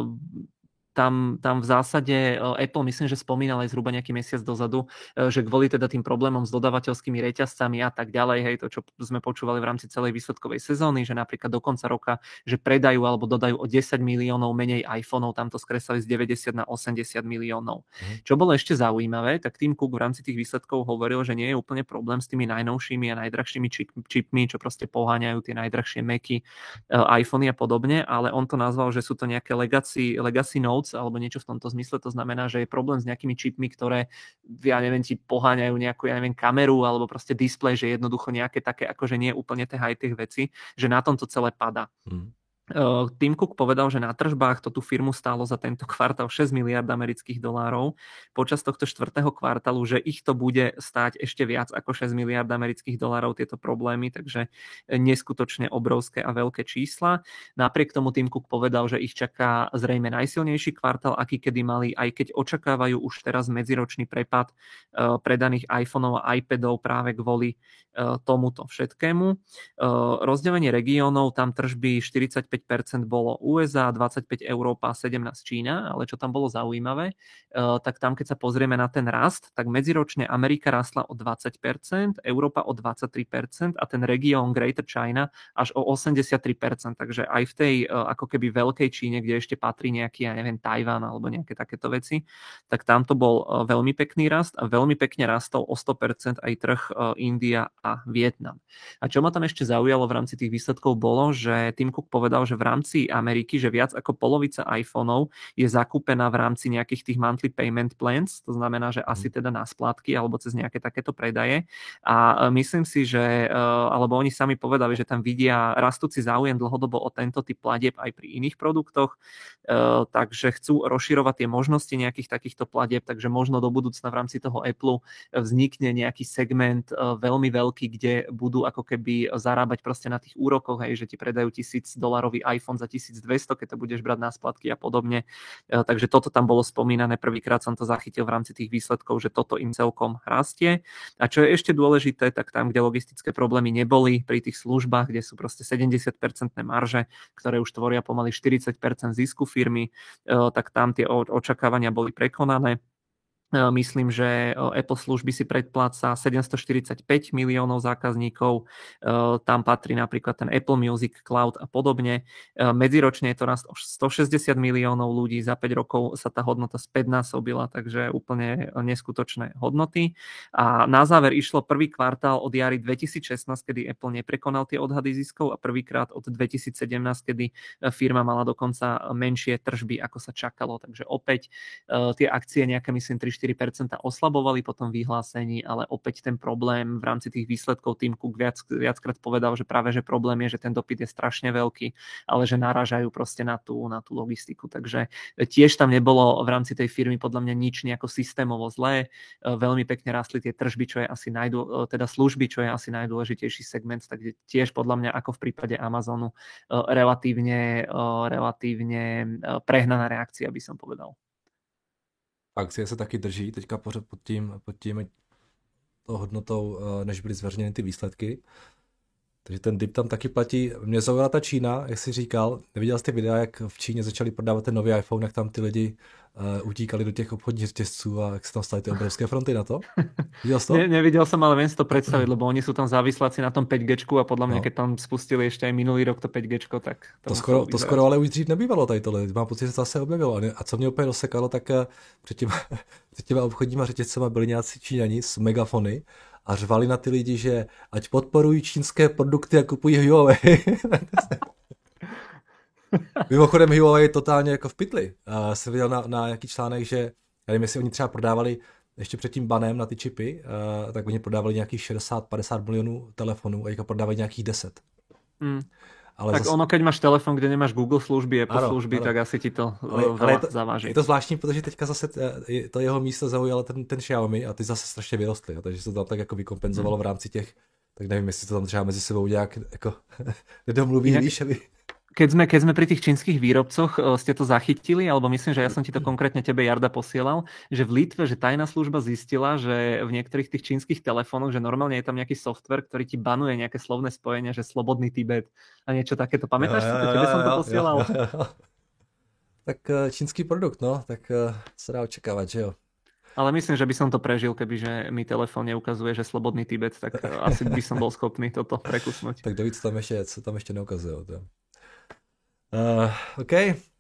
Tam v zásade Apple, myslím, že spomínal aj zhruba nejaký mesiac dozadu, že kvôli teda tým problémom s dodávateľskými reťazcami a tak ďalej, hej, to, čo sme počúvali v rámci celej výsledkovej sezóny, že napríklad do konca roka, že predajú alebo dodajú o 10 miliónov menej iPhoneov, tam to skresali z 90 na 80 miliónov. Čo bolo ešte zaujímavé, tak Tim Cook v rámci tých výsledkov hovoril, že nie je úplne problém s tými najnovšími a najdrahšími čipmi, čo proste poháňajú tie najdrahšie Macy, iPhony a podobne, ale on to nazval, že sú to nejaké legacy nodes alebo niečo v tomto zmysle, to znamená, že je problém s nejakými čipmi, ktoré, ja neviem, ti poháňajú nejakú, kameru alebo proste displej, že jednoducho nejaké také, akože nie úplne tie high-tech veci, že na tom to celé padá. Tim Cook povedal, že na tržbách to tú firmu stálo za tento kvartál 6 miliard amerických dolárov. Počas tohto štvrtého kvartálu, že ich to bude stáť ešte viac ako 6 miliard amerických dolárov tieto problémy, takže neskutočne obrovské a veľké čísla. Napriek tomu Tim Cook povedal, že ich čaká zrejme najsilnejší kvartál, aký kedy mali, aj keď očakávajú už teraz medziročný prepad predaných iPhoneov a iPadov práve kvôli tomuto všetkému. Rozdelenie regiónov, tam tržby 45% 25% bolo USA, 25% Európa, 17% Čína, ale čo tam bolo zaujímavé, tak tam keď sa pozrieme na ten rast, tak medziročne Amerika rastla o 20%, Európa o 23% a ten región Greater China až o 83%, takže aj v tej ako keby veľkej Číne, kde ešte patrí nejaký, ja neviem, Tajván alebo nejaké takéto veci, tak tam to bol veľmi pekný rast a veľmi pekne rastol o 100% aj trh India a Vietnam. A čo ma tam ešte zaujalo v rámci tých výsledkov bolo, že Tim Cook povedal, že v rámci Ameriky, že viac ako polovica iPhoneov je zakúpená v rámci nejakých tých monthly payment plans, to znamená, že asi teda na splátky alebo cez nejaké takéto predaje. A myslím si, že, alebo oni sami povedali, že tam vidia rastúci záujem dlhodobo o tento typ platieb aj pri iných produktoch, takže chcú rozširovať tie možnosti nejakých takýchto platieb, takže možno do budúcna v rámci toho Apple vznikne nejaký segment veľmi veľký, kde budú ako keby zarábať proste na tých úrokoch, hej, že ti predajú $1000 iPhone za 1200, keď to budeš brať na splatky a podobne. Takže toto tam bolo spomínané, prvýkrát som to zachytil v rámci tých výsledkov, že toto im celkom rastie. A čo je ešte dôležité, tak tam, kde logistické problémy neboli, pri tých službách, kde sú proste 70% marže, ktoré už tvoria pomaly 40% zisku firmy, tak tam tie očakávania boli prekonané. Myslím, že Apple služby si predpláca 745 miliónov zákazníkov, tam patrí napríklad ten Apple Music Cloud a podobne. Medziročne je to rast o 160 miliónov ľudí, za 5 rokov sa tá hodnota späťnásobila, takže úplne neskutočné hodnoty. A na záver išlo prvý kvartál od jary 2016, kedy Apple neprekonal tie odhady ziskov a prvýkrát od 2017, kedy firma mala dokonca menšie tržby, ako sa čakalo. Takže opäť tie akcie nejaké, myslím, 4% oslabovali po tom vyhlásení, ale opäť ten problém v rámci tých výsledkov Tim Cook viackrát povedal, že práve že problém je, že ten dopyt je strašne veľký, ale že narážajú proste na tú logistiku. Takže tiež tam nebolo v rámci tej firmy podľa mňa nič nejako systémovo zlé. Veľmi pekne rastli tie tržby, čo je asi teda služby, čo je asi najdôležitejší segment, takže tiež podľa mňa ako v prípade Amazonu relatívne prehnaná reakcia, by som povedal. Akcie se taky drží teďka pořád pod tím hodnotou, než byly zveřejněny ty výsledky. Takže ten dip tam taky platí. Mě zaujala ta Čína, jak jsi říkal. Neviděl jsi ty videa, jak v Číně začali prodávat ten nový iPhone, jak tam ty lidi utíkali do těch obchodních řetězců a jak se tam staly ty obrovské fronty na to? Viděl jsi to? Nevidel som, ale viem si to predstaviť, lebo oni sú tam závisláci na tom 5G a podľa mňa, keď tam spustili ešte aj minulý rok to 5G, tak to skoro ale už dřív nebývalo tady tohle. Mám pocit, že to zase objevilo. A co mě úplně rozsekalo, tak před těma obchodníma řetězcema byli nějací Číňani s megafony a řvali na ty lidi, že ať podporují čínské produkty a kupují Huawei. Mimochodem Huawei je totálně jako v pytli. Jsem viděl na nějaký článek, že já nevím, jestli oni třeba prodávali ještě před tím banem na ty čipy, tak oni prodávali nějakých 60-50 milionů telefonů a prodávají nějakých 10. Ale tak ono, keď máš telefon, kde nemáš Google služby, Apple služby, tak asi ti to veľa zaváží. Je to zvláštní, protože teďka zase to jeho místo zaujalo ten Xiaomi a ty zase strašně vyrostly, takže se to tam tak jako vykompenzovalo v rámci těch, tak nevím, jestli to tam třeba mezi sebou nějak jako nedomluví, víš, aby... Keď sme pri tých čínskych výrobcoch, ste to zachytili, alebo myslím, že ja som ti to konkrétne tebe, Jarda, posielal, že v Litve, že tajná služba zistila, že v niektorých tých čínskych telefónoch, že normálne je tam nejaký software, ktorý ti banuje nejaké slovné spojenia, že slobodný Tibet a niečo takéto. Pamätáš si to? Tebe som to posielal. Tak čínsky produkt, no, tak sa dá očakávať, že jo. Ale myslím, že by som to prežil, kebyže mi telefón neukazuje, že slobodný Tibet, tak asi by som bol schopný toto prekusnúť. Tak dovíc tam ešte neukazuje. OK.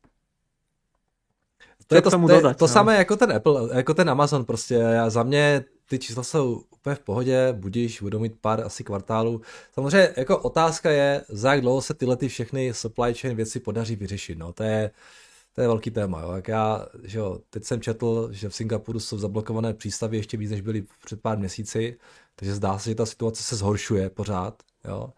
To samé jako ten Apple, jako ten Amazon prostě. Za mě ty čísla jsou úplně v pohodě, budíš, budou mít pár asi kvartálů. Samozřejmě jako otázka je, za jak dlouho se tyhle ty všechny supply chain věci podaří vyřešit. No, to je velký téma. Jo. Jak že jo, teď jsem četl, že v Singapuru jsou zablokované přístavy ještě víc, než byly před pár měsíci, takže zdá se, že ta situace se zhoršuje pořád. Jo.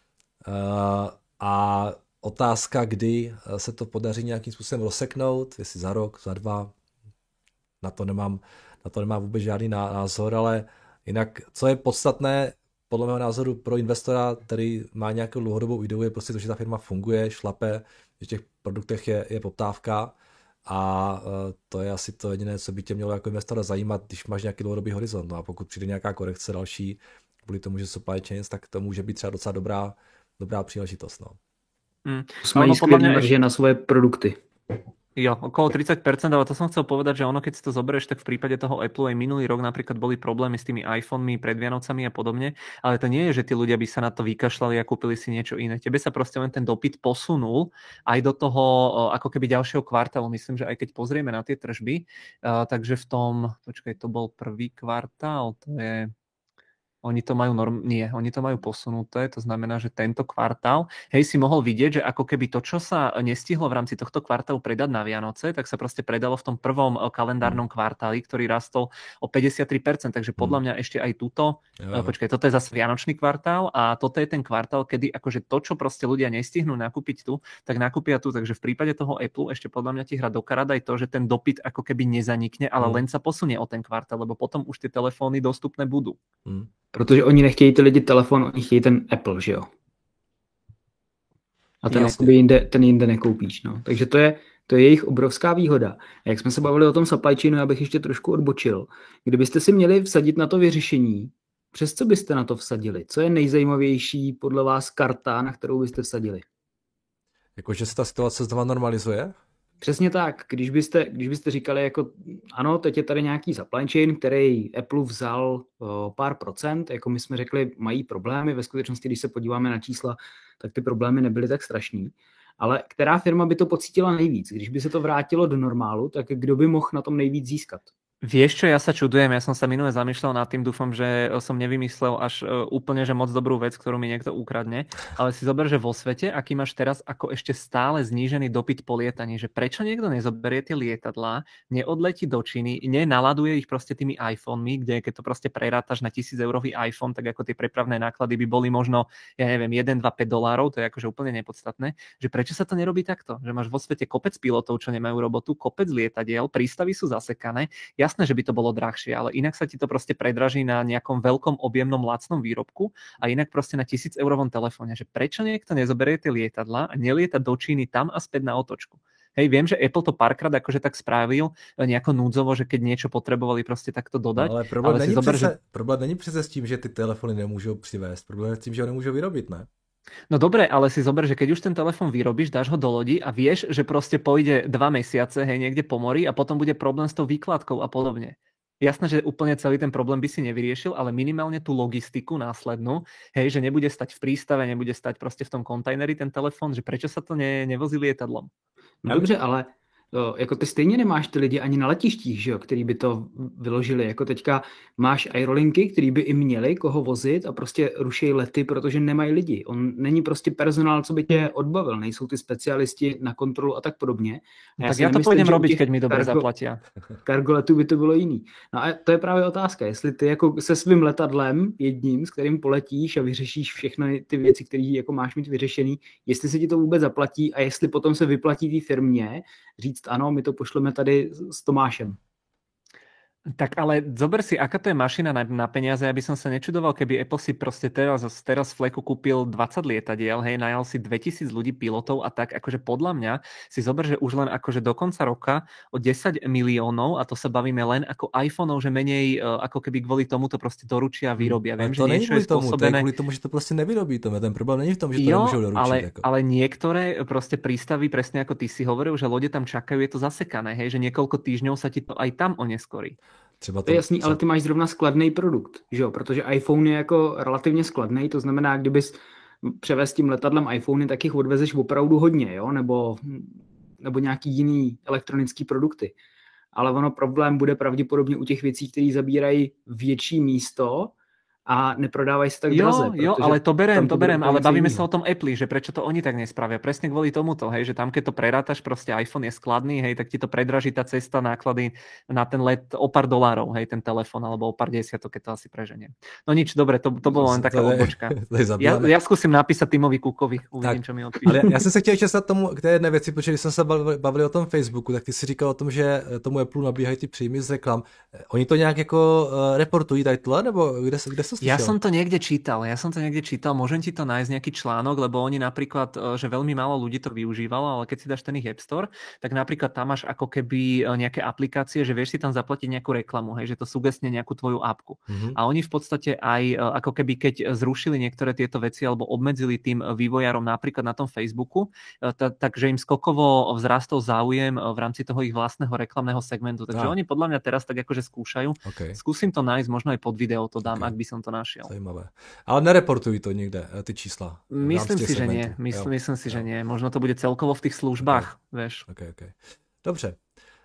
A otázka, kdy se to podaří nějakým způsobem rozseknout, jestli za rok, za 2, na to nemám vůbec žádný názor, ale jinak, co je podstatné, podle mého názoru pro investora, který má nějakou dlouhodobou ideu, je prostě to, že ta firma funguje, šlape, že v těch produktech je poptávka a to je asi to jediné, co by tě mělo jako investora zajímat, když máš nějaký dlouhodobý horizont. No a pokud přijde nějaká korekce další, kvůli tomu, že supply chains, tak to může být třeba docela dobrá příležitost. No. Mají skvělé marže na svoje produkty. Jo, okolo 30%, ale to som chcel povedať, že ono, keď si to zoberieš, tak v prípade toho Apple aj minulý rok napríklad boli problémy s tými iPhonemi pred Vianocami a podobne, ale to nie je, že tí ľudia by sa na to vykašľali a kúpili si niečo iné. Tebe sa proste len ten dopyt posunul aj do toho ako keby ďalšieho kvartálu. Myslím, že aj keď pozrieme na tie tržby, takže v tom, to bol prvý kvartál, to je... Oni to majú posunuté, to znamená, že tento kvartál, si mohol vidieť, že ako keby to, čo sa nestihlo v rámci tohto kvartálu predať na Vianoce, tak sa proste predalo v tom prvom kalendárnom kvartáli, ktorý rastol o 53%, takže podľa mňa ešte aj túto, toto je zase Vianočný kvartál a toto je ten kvartál, kedy akože to, čo proste ľudia nestihnú nakúpiť tu, tak nakúpia tu, takže v prípade toho Apple ešte podľa mňa ti hra do karát aj to, že ten dopyt ako keby nezanikne, ale len sa posunie o ten kvartál, lebo potom už tie telefóny dostupné budú. Protože oni nechtějí ty lidi telefon, oni chtějí ten Apple, že jo? A ten jinde nekoupíš, no. Takže to je jejich obrovská výhoda. A jak jsme se bavili o tom supply chainu, já bych ještě trošku odbočil. Kdybyste si měli vsadit na to vyřešení, přes co byste na to vsadili? Co je nejzajímavější podle vás karta, na kterou byste vsadili? Jakože se ta situace znova normalizuje? Přesně tak. Když byste říkali, jako ano, teď je tady nějaký supply chain, který Apple vzal pár procent, jako my jsme řekli, mají problémy. Ve skutečnosti, když se podíváme na čísla, tak ty problémy nebyly tak strašný. Ale která firma by to pocítila nejvíc? Když by se to vrátilo do normálu, tak kdo by mohl na tom nejvíc získat? Vieš čo, ja sa čudujem, ja som sa minule zamýšľal nad tým, dúfam, že som nevymyslel až úplne, že moc dobrú vec, ktorú mi niekto ukradne, ale si zober, že vo svete, aký máš teraz ako ešte stále znížený dopyt po lietaní, že prečo niekto nezoberie tie lietadlá, neodletí do Číny, nenaladuje ich proste tými iPhonemi, kde keď to proste prerátaš na 1000-eurový iPhone, tak ako tie prepravné náklady by boli možno, ja neviem, 1, 2, 5 $, to je akože úplne nepodstatné, že prečo sa to nerobí takto, že máš vo svete kopec pilotov, čo nemajú robotu, kopec lietadiel, prístavy sú zasekané. Jasné, že by to bolo drahšie, ale inak sa ti to proste predraží na nejakom veľkom objemnom lacnom výrobku a inak proste na 1000-eurovom telefóne. Že prečo niekto nezoberie tie lietadla a nelieta do Číny tam a späť na otočku? Viem, že Apple to párkrát akože tak spravil nejako núdzovo, že keď niečo potrebovali proste takto dodať. No, ale problém není přece s tím, že ty telefony nemôžou přivést. Problém je s tím, že ho nemôžou vyrobiť, ne? No dobre, ale si zober, že keď už ten telefón vyrobíš, dáš ho do lodi a vieš, že proste pôjde 2 mesiace, niekde po mori a potom bude problém s tou výkladkou a podobne. Jasné, že úplne celý ten problém by si nevyriešil, ale minimálne tú logistiku následnú, že nebude stať v prístave, nebude stať proste v tom kontajneri ten telefón, že prečo sa to nevozí lietadlom? No dobře, ale jako ty stejně nemáš ty lidi ani na letištích, že jo, který by to vyložili. Jako teďka máš aerolinky, který by i měli koho vozit a prostě ruší lety, protože nemají lidi. On není prostě personál, co by tě odbavil. Nejsou ty specialisti na kontrolu a tak podobně. A tak já to půjdem robiť, keď mi dobre zaplatia. Cargo letu by to bylo jiný. No a to je právě otázka, jestli ty jako se svým letadlem jedním, s kterým poletíš a vyřešíš všechny ty věci, které jako máš mít vyřešený, jestli se ti to vůbec zaplatí a jestli potom se vyplatí té firmě říct ano, my to pošleme tady s Tomášem. Tak ale zober si, aká to je mašina na peniaze, aby som sa nečudoval, keby Apple si proste teraz v fleku kúpil 20 lietadiel, najal si 2000 ľudí pilotov a tak, akože podľa mňa si zober, že už len akože do konca roka o 10 miliónov, a to sa bavíme len ako iPhoneov, že menej ako keby kvôli tomu to proste doručia a vyrobia. Viem, že to niečo je spôsobené. To je kvôli tomu, že to proste nevyrobí. Ten problém není v tom, že to nemôžu doručiť. Ale niektoré proste prístavy, presne ako ty si hovoril, že lode tam čakajú, je to zasekané, že niekoľko týždňov sa ti to aj tam oneskorí. To je jasný, ale ty máš zrovna skladný produkt, že jo? Protože iPhone je jako relativně skladný, to znamená, kdybys převez tím letadlem iPhony, tak jich odvezeš opravdu hodně, jo? Nebo nějaký jiný elektronický produkty. Ale ono problém bude pravděpodobně u těch věcí, které zabírají větší místo a neprodávajú sa tak draze. Jo, ale to berem, ale bavíme sa o tom Apple, že prečo to oni tak nespravia. Presne kvôli tomuto, že tam keď to prerátaš, proste iPhone je skladný, tak ti to predraží tá cesta, náklady na ten let o pár $, ten telefon, alebo o pár desiatok, keď to asi preženiem. No nič, dobre, to bolo len taká odbočka. Ja skúsim napísať Timovi Cookovi, uvidím, čo mi odpíše. Ale ja som sa chtěl česat k té jedné věci, protože když jsme se bavili o tom Facebooku, tak ty si říkal o tom, že tomu Apple nabíhají ty příjmy z reklam. Oni to nějak jako reportují tady tohle, nebo kde som Ja slyšel. som to niekde čítal, môžem ti to nájsť nejaký článok, lebo oni napríklad, že veľmi málo ľudí to využívalo, ale keď si dáš ten ich App Store, tak napríklad tam máš ako keby nejaké aplikácie, že vieš si tam zaplatiť nejakú reklamu, hej, že to sugestne nejakú tvoju apku. A oni v podstate aj ako keby keď zrušili niektoré tieto veci alebo obmedzili tým vývojárom napríklad na tom Facebooku, takže im skokovo vzrastol záujem v rámci toho ich vlastného reklamného segmentu. Takže oni podľa mňa teraz tak akože skúšajú. Okay. Skúsim to nájsť, možno aj pod video to dám, ak by som to našiel. Zajímavé. Ale nereportují to nikde, ty čísla? Myslím si, že nie. Myslím si, že nie. Možno to bude celkovo v tých službách, vieš. Okay. Dobře.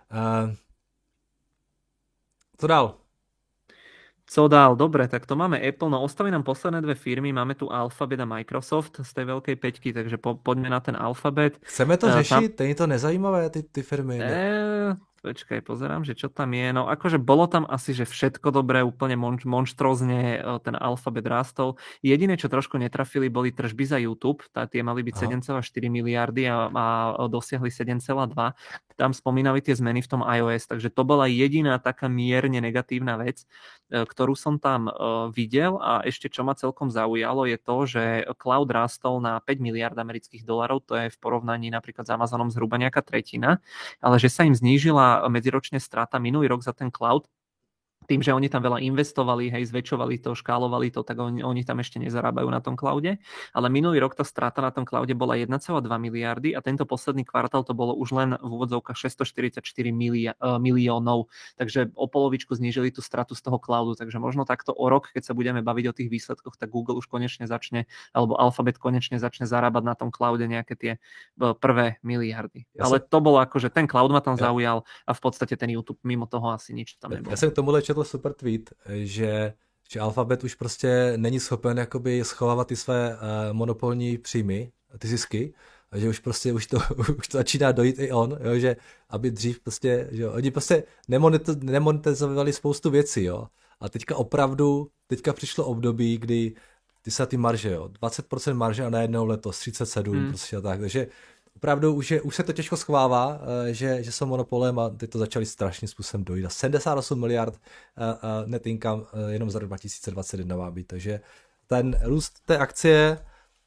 Co dál? Co dál? Dobre, tak to máme Apple. No ostali nám posledné dve firmy. Máme tu Alphabet a Microsoft z tej veľkej peťky, takže poďme na ten Alphabet. Chceme to řešit? Není to nezajímavé, ty firmy? Počkaj, pozerám, že čo tam je. No akože bolo tam asi, že všetko dobré, úplne monštrózne ten Alphabet rástol. Jediné, čo trošku netrafili, boli tržby za YouTube. Tie mali byť 7,4 miliardy a dosiahli 7,2. Tam spomínali tie zmeny v tom iOS, takže to bola jediná taká mierne negatívna vec, ktorú som tam videl. A ešte čo ma celkom zaujalo je to, že cloud rástol na 5 miliard amerických dolarov, to je v porovnaní napríklad s Amazonom zhruba nejaká tretina, ale že sa im znížila medziročne strata minulý rok za ten cloud, tým, že oni tam veľa investovali, hej, zväčšovali to, škálovali to, tak oni tam ešte nezarábajú na tom cloude. Ale minulý rok tá strata na tom cloude bola 1,2 miliardy a tento posledný kvartál to bolo už len v úvodzovkách 644 miliónov. Takže o polovičku znížili tú stratu z toho cloudu. Takže možno takto o rok, keď sa budeme baviť o tých výsledkoch, tak Google už konečne začne, alebo Alphabet konečne začne zarábať na tom cloude nejaké tie prvé miliardy. Ale to bolo akože ten cloud ma tam zaujal a v podstate ten YouTube mimo toho asi nič tam nebolo. Ja som k tomuhle četl super tweet, že Alphabet už prostě není schopen jakoby schovávat ty své monopolní příjmy, ty zisky, a že už prostě už to začíná dojít i on, jo, že aby dřív prostě, že oni prostě nemonetizovali spoustu věcí, jo. A teďka přišlo období, kdy se ty marže, jo, 20% marže a najednou letos 37%, prostě a tak, takže opravdu už se to těžko schovává, že jsou monopolem a teď to začali strašným způsobem dojít. 78 miliard net income jenom za rok 2021 má být, takže ten růst té akcie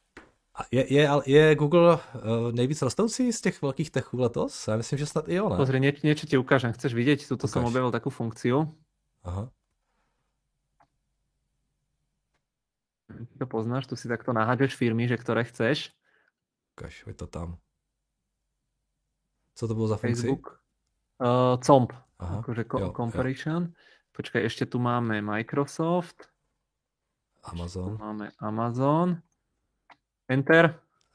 je Google nejvíc rostoucí z těch velkých techů letos? Já myslím, že snad i jo, ne? Pozri, niečo ti ukážem. Chceš vidieť? Tuto som objavil takú funkciu. Aha. To poznáš, tu si takto naháďaš firmy, že ktoré chceš. Ukáž, hoď to tam. Co to bylo za funkci? Facebook. COMP. Aha, akože comparison. Počkaj, ešte tu máme Microsoft. Amazon. Tu máme Amazon. Enter.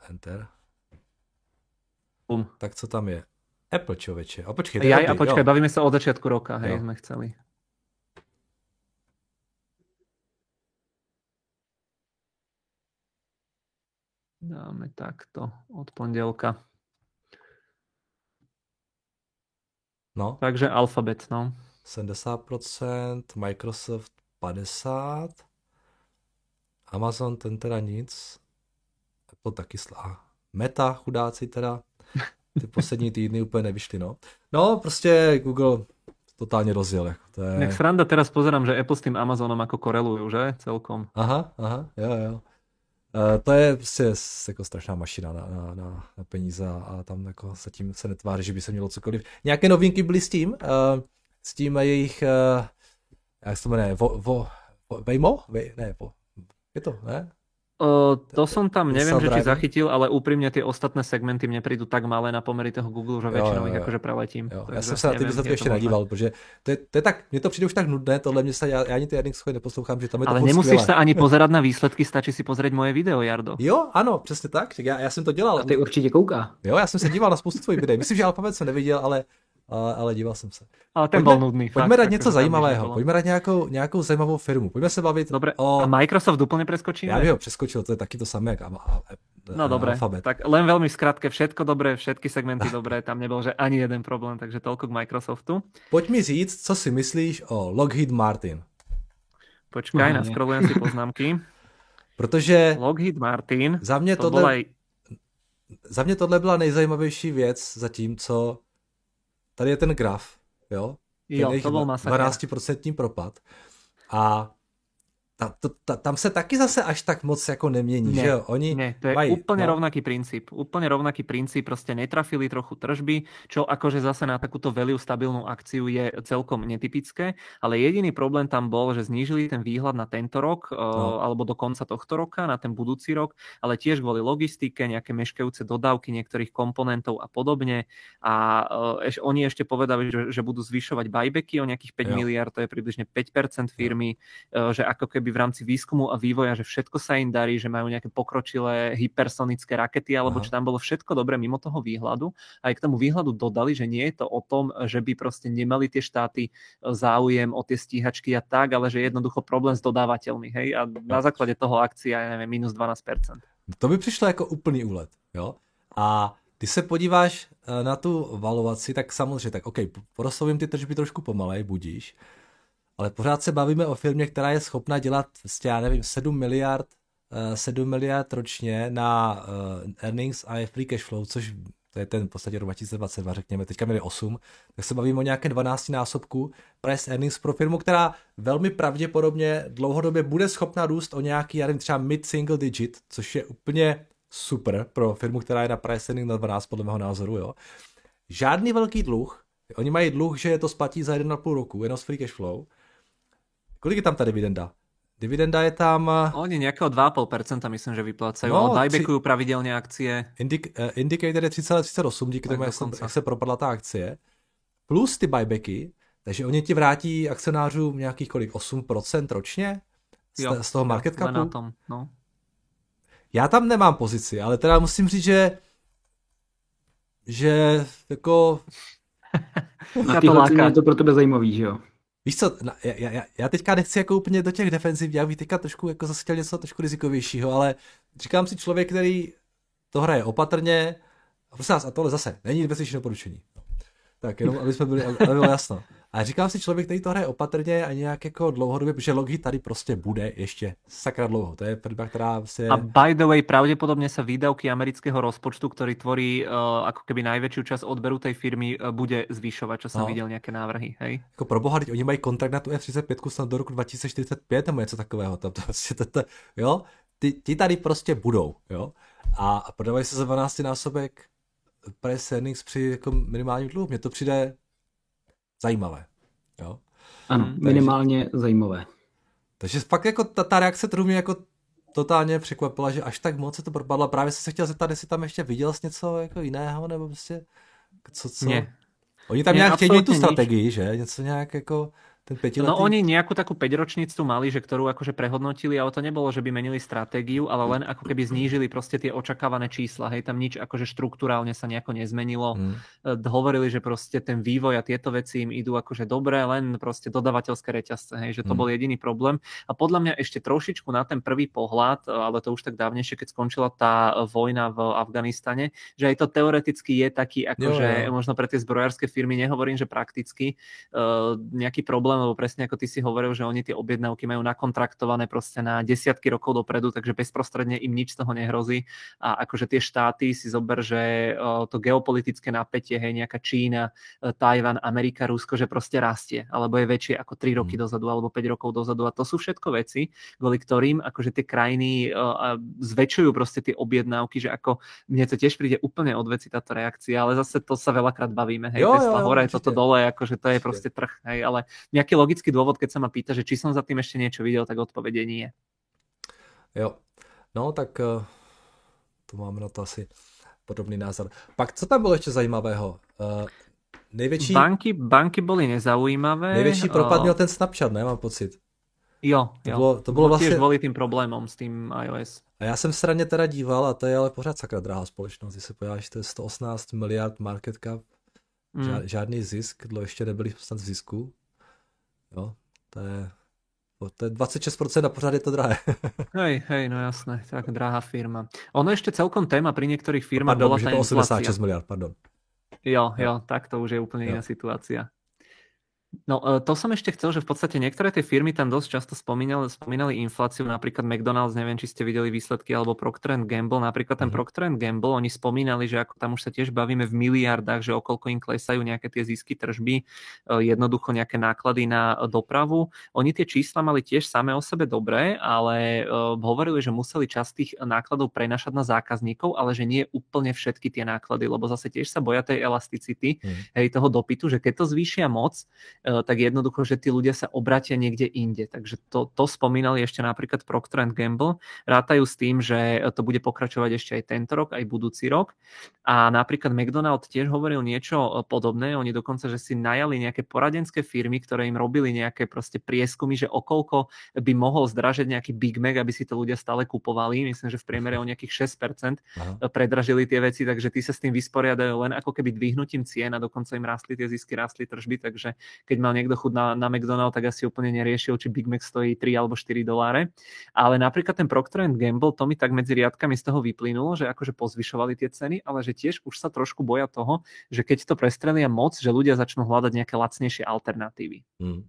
Tak co tam je? Apple, človeče. A počkej, bavíme sa od začiatku roka, hej, sme chceli. Dáme takto od pondelka. No. Takže Alphabet, no. 70%, Microsoft 50%, Amazon ten teda nic, Apple taky Meta, chudáci teda, ty poslední týdny úplně nevyšly, no. No, prostě Google totálně rozjel. Jako to je... Nech sranda, teraz pozerám, že Apple s tým Amazonom ako korelujú, že? Celkom. Aha, jo. To je prostě jako strašná mašina na peníze a tam jako zatím se netváří, že by se mělo cokoliv. Nějaké novinky byly s tím jejich, jak se to jmenuje, Waymo? Je to, ne? To som tam, neviem, že či zachytil, ale úprimne tie ostatné segmenty mne prídu tak malé na pomery toho Google, že väčšinou ich akože preletím. Já jsem se na ty výsledky ještě nedíval, protože to je tak, mně to přijde už tak nudné, tohle mě se, já ani ty jedných schody neposlouchám, že tam je to ale nemusíš sa ani pozerať na výsledky, stačí si pozrieť moje video, Jardo. Jo, ano, přesně tak, já jsem to dělal. A ty určitě kouká. Jo, já jsem se díval na spoustu tvojich videí, myslím, že Alphabet jsem neviděl, ale díval jsem se. Ale ten bol nudný. Pojďme dát něco zajímavého, pojďme dát nějakou zajímavou firmu, pojďme se bavit a Microsoft úplně preskočíme? Já bych ho přeskočil, to je taky to samé, jak no dobre, Alphabet. Tak len veľmi skrátke, všetko dobré, všetky segmenty dobré, tam nebol, že ani jeden problém, takže toľko k Microsoftu. Pojď mi říct, co si myslíš o Lockheed Martin. Počkaj, naskrolujem si poznámky. Protože Lockheed Martin, za mě tohle byla nejzajímavější věc, zatímco tady je ten graf, jo? Jo, to bol masakr. 12% propad. A tam se taky zase až tak moc jako nemění, že jo? Oni to je úplne rovnaký princíp. Úplne rovnaký princíp, proste netrafili trochu tržby, čo akože zase na takúto value stabilnú akciu je celkom netypické, ale jediný problém tam bol, že znížili ten výhľad na tento rok, alebo do konca tohto roka, na ten budúci rok, ale tiež kvôli logistike, nejaké meškajúce dodávky niektorých komponentov a podobne. A oni ešte povedali, že budú zvyšovať buybacky o nejakých 5 miliard, to je približne 5% firmy, že ako keby v rámci výskumu a vývoja, že všetko sa im darí, že majú nejaké pokročilé hypersonické rakety, alebo čo tam bolo všetko dobre mimo toho výhľadu. A aj k tomu výhľadu dodali, že nie je to o tom, že by proste nemali tie štáty záujem o tie stíhačky a tak, ale že je jednoducho problém s dodávateľmi. Hej? A na základe toho akcia je, neviem, minus 12%. To by přišlo jako úplný úlet. Jo? A když se podíváš na tu valuaci, tak samozřejmě, tak OK, porostou ty tržby trošku pomalej, budíš, ale pořád se bavíme o firmě, která je schopna dělat, já nevím, 7 miliard ročně na earnings a free cash flow, což to je ten v podstatě rok 2022, řekněme, teďka měli 8, tak se bavíme o nějaké 12 násobku price earnings pro firmu, která velmi pravděpodobně dlouhodobě bude schopna růst o nějaký, já nevím, třeba mid-single digit, což je úplně super pro firmu, která je na price earning na 12, podle mého názoru, jo. Žádný velký dluh, oni mají dluh, že to splatí za 1,5 roku, jenom z free cash flow. Kolik je tam ta dividenda? Dividenda je tam... Oni nejakého 2,5% myslím, že vyplácajú, ale buybackujú pravidelne akcie. Indicator je 3,38, díky tomu, jak se propadla ta akcie. Plus ty buybacky, takže oni ti vrátí akcionářům nějakých kolik? 8% ročně? Z toho market capu? Na tom, no. Já tam nemám pozici, ale teda musím říct, že jako... Na tyhle ceny je to pro tebe zajímavý, že jo? Víš co, já teďka nechci jako úplně do těch defenziv, já bych teďka trošku jako zase chtěl něco trošku rizikovějšího, ale říkám si člověk, který to hraje opatrně, a prosím vás, a tohle zase není investiční doporučení. Tak jenom, aby bylo jasno. A říkám si člověk, který to hraje opatrně a nějak jako dlouhodobě, protože Lockheed tady prostě bude ještě sakra dlouho. To je firma, která prostě... A by the way, pravdepodobne sa výdavky amerického rozpočtu, ktorý tvorí ako keby najväčšiu časť odberu tej firmy, bude zvyšovať, čo som videl nejaké návrhy. Hej? Jako pro boha, oni mají kontrakt na tu F-35 snad do roku 2045 nebo něco takového. Jo? Ti tady prostě budou. Jo? A prodávají se za 12 násobek price earnings při jako minimálním dluhu. Mně to přijde zajímavé. Jo? Ano, minimálně zajímavé. Takže fakt jako ta reakce trhu mě jako totálně překvapila, že až tak moc se to propadlo. Právě jsem se chtěl zeptat, jestli tam ještě viděl jsi něco jako jiného, nebo prostě co? Nie. Oni tam nějak chtějí tu strategii, že? Něco nějak jako... No oni nejakú takú 5-ročnicu mali, že ktorú akože prehodnotili, ale to nebolo, že by menili stratégiu, ale len ako keby znížili proste tie očakávané čísla. Hej, tam nič akože štruktúrálne sa nejako nezmenilo. Hovorili, že proste ten vývoj a tieto veci im idú akože dobre, len proste dodavateľské reťazce, hej, že to bol jediný problém. A podľa mňa ešte trošičku na ten prvý pohľad, ale to už tak dávnejšie, keď skončila tá vojna v Afganistane, že aj to teoreticky je taký akože možno pre tie zbrojárske firmy, nehovorím, že prakticky nejaký problém, lebo presne ako ty si hovoril, že oni tie objednávky majú nakontraktované proste na desiatky rokov dopredu, takže bezprostredne im nič z toho nehrozí. A akože tie štáty si zober, že to geopolitické napätie, hej, nejaká Čína, Tajvan, Amerika, Rusko, že proste rastie, alebo je väčšie ako 3 roky dozadu, alebo 5 rokov dozadu. A to sú všetko veci, kvôli ktorým akože tie krajiny zväčšujú proste tie objednávky, že ako mne to tiež príde úplne od veci táto reakcia, ale zase to sa veľakrát bavíme, hej, Tesla hore, toto dole, akože to je proste trh, hej, ale nejaký logický dôvod, keď sa ma pýta, že či som za tým ešte niečo videl, tak odpovede nie. Jo, no tak tu máme na to asi podobný názor. Pak co tam bylo ještě zajímavého? Největší... Banky boli nezaujímavé. Největší propad měl ten Snapchat, ne? Mám pocit. Jo. To bylo vlastně... Tiež kvôli tým problémom s tým iOS. A já jsem straně teda díval, a to je ale pořád sakra drahá společnost. Když se podíváš, to je 118 miliard market cap, žádný zisk, dlouho ještě nebyli snad v zisku. Jo, to je 26% a pořád je to drahé. Hej, no jasné, tak drahá firma. Ono ešte celkom téma pri niektorých firmách bola tá inflácia. 86 miliard, pardon. Jo, tak to už je úplne iná situácia. No, to som ešte chcel, že v podstate niektoré tie firmy tam dosť často spomínali infláciu, napríklad McDonald's, neviem, či ste videli výsledky, alebo Procter & Gamble. Napríklad ten Procter & Gamble, oni spomínali, že ako tam už sa tiež bavíme v miliardách, že okolko im klesajú nejaké tie zisky tržby, jednoducho nejaké náklady na dopravu. Oni tie čísla mali tiež samé o sebe dobré, ale hovorili, že museli časť tých nákladov prenašať na zákazníkov, ale že nie úplne všetky tie náklady, lebo zase tiež sa boja tej elasticity, toho dopytu, že keď to zvýšia moc, tak jednoducho, že tí ľudia sa obratia niekde inde. Takže to spomínali ešte napríklad Procter & Gamble. Rátajú s tým, že to bude pokračovať ešte aj tento rok, aj budúci rok. A napríklad McDonald tiež hovoril niečo podobné. Oni dokonca, že si najali nejaké poradenské firmy, ktoré im robili nejaké proste prieskumy, že okolko by mohol zdražiť nejaký Big Mac, aby si to ľudia stále kupovali. Myslím, že v priemere o nejakých 6% predražili tie veci, takže tí sa s tým vysporiadajú len ako keby dvihnutím cien a dokonca im rástli tie zisky, rástli tržby, takže keď mal niekto chuť na McDonald's, tak asi úplne neriešil, či Big Mac stojí 3 alebo 4 $. Ale napríklad ten Procter & Gamble, to mi tak medzi riadkami z toho vyplynulo, že akože pozvyšovali tie ceny, ale že tiež už sa trošku boja toho, že keď to prestrelia moc, že ľudia začnú hľadať nejaké lacnejšie alternatívy.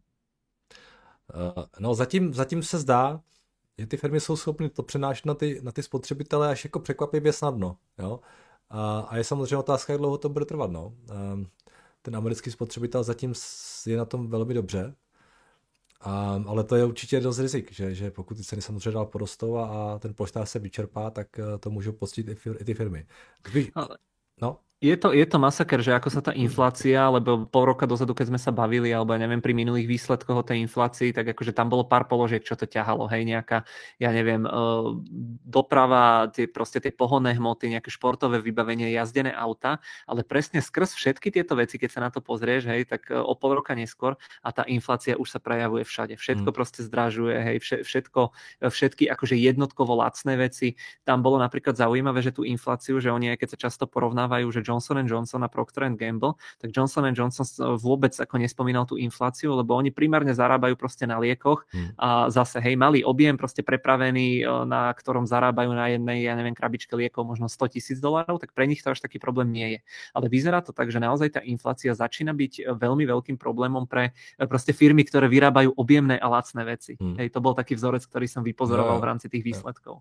No zatím se zdá, že ty firmy jsou schopny to přenášet na ty spotřebitele až jako překvapivě snadno. Jo? A je samozřejmě otázka, jak dlouho to bude trvat. No. Ten americký spotřebitel zatím je na tom velmi dobře, ale to je určitě dost rizik, že pokud ty ceny samozřejmě dál porostou a ten polštář se vyčerpá, tak to můžou poctiť i ty firmy. No. Je to masaker, že ako sa tá inflácia, lebo pol roka dozadu, keď sme sa bavili, alebo ja neviem, pri minulých výsledkoch o tej inflácii, tak akože tam bolo pár položiek, čo to ťahalo, hej, nejaká, ja neviem, doprava, tie pohonné hmoty, nejaké športové vybavenie, jazdené auta, ale presne skrz všetky tieto veci, keď sa na to pozrieš, hej, tak o pol roka neskôr a tá inflácia už sa prejavuje všade. Všetko proste zdražuje, hej, všetky akože jednotkovo lacné veci. Tam bolo napríklad zaujímavé, že tú infláciu, že oni, keď sa často porovnávajú, že Johnson & Johnson a Procter & Gamble, tak Johnson & Johnson vôbec ako nespomínal tú infláciu, lebo oni primárne zarábajú proste na liekoch a zase, hej, malý objem proste prepravený, na ktorom zarábajú na jednej, ja neviem, krabičke liekov možno $100,000, tak pre nich to až taký problém nie je. Ale vyzerá to tak, že naozaj tá inflácia začína byť veľmi veľkým problémom pre proste firmy, ktoré vyrábajú objemné a lacné veci. Hej, to bol taký vzorec, ktorý som vypozoroval v rámci tých výsledkov.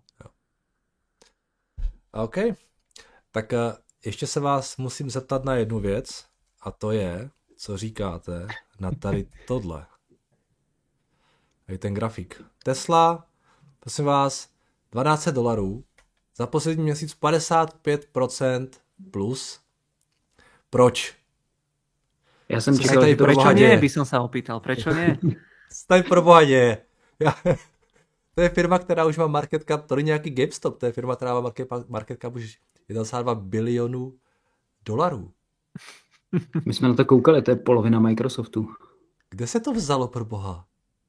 OK. Tak ještě se vás musím zeptat na jednu věc, a to je, co říkáte na tady tohle. Tady ten grafik. Tesla, prosím vás, $1200, za poslední měsíc 55% plus. Proč? Já jsem čekal, že to prečo nie, by som sa opýtal. Prečo nie? Tady pro boha děje. To je firma, která už má market cap, to není nějaký GameStop, to je firma, která má market cap už 1,2 bilionů $. My jsme na to koukali, to je polovina Microsoftu. Kde se to vzalo, pro boha?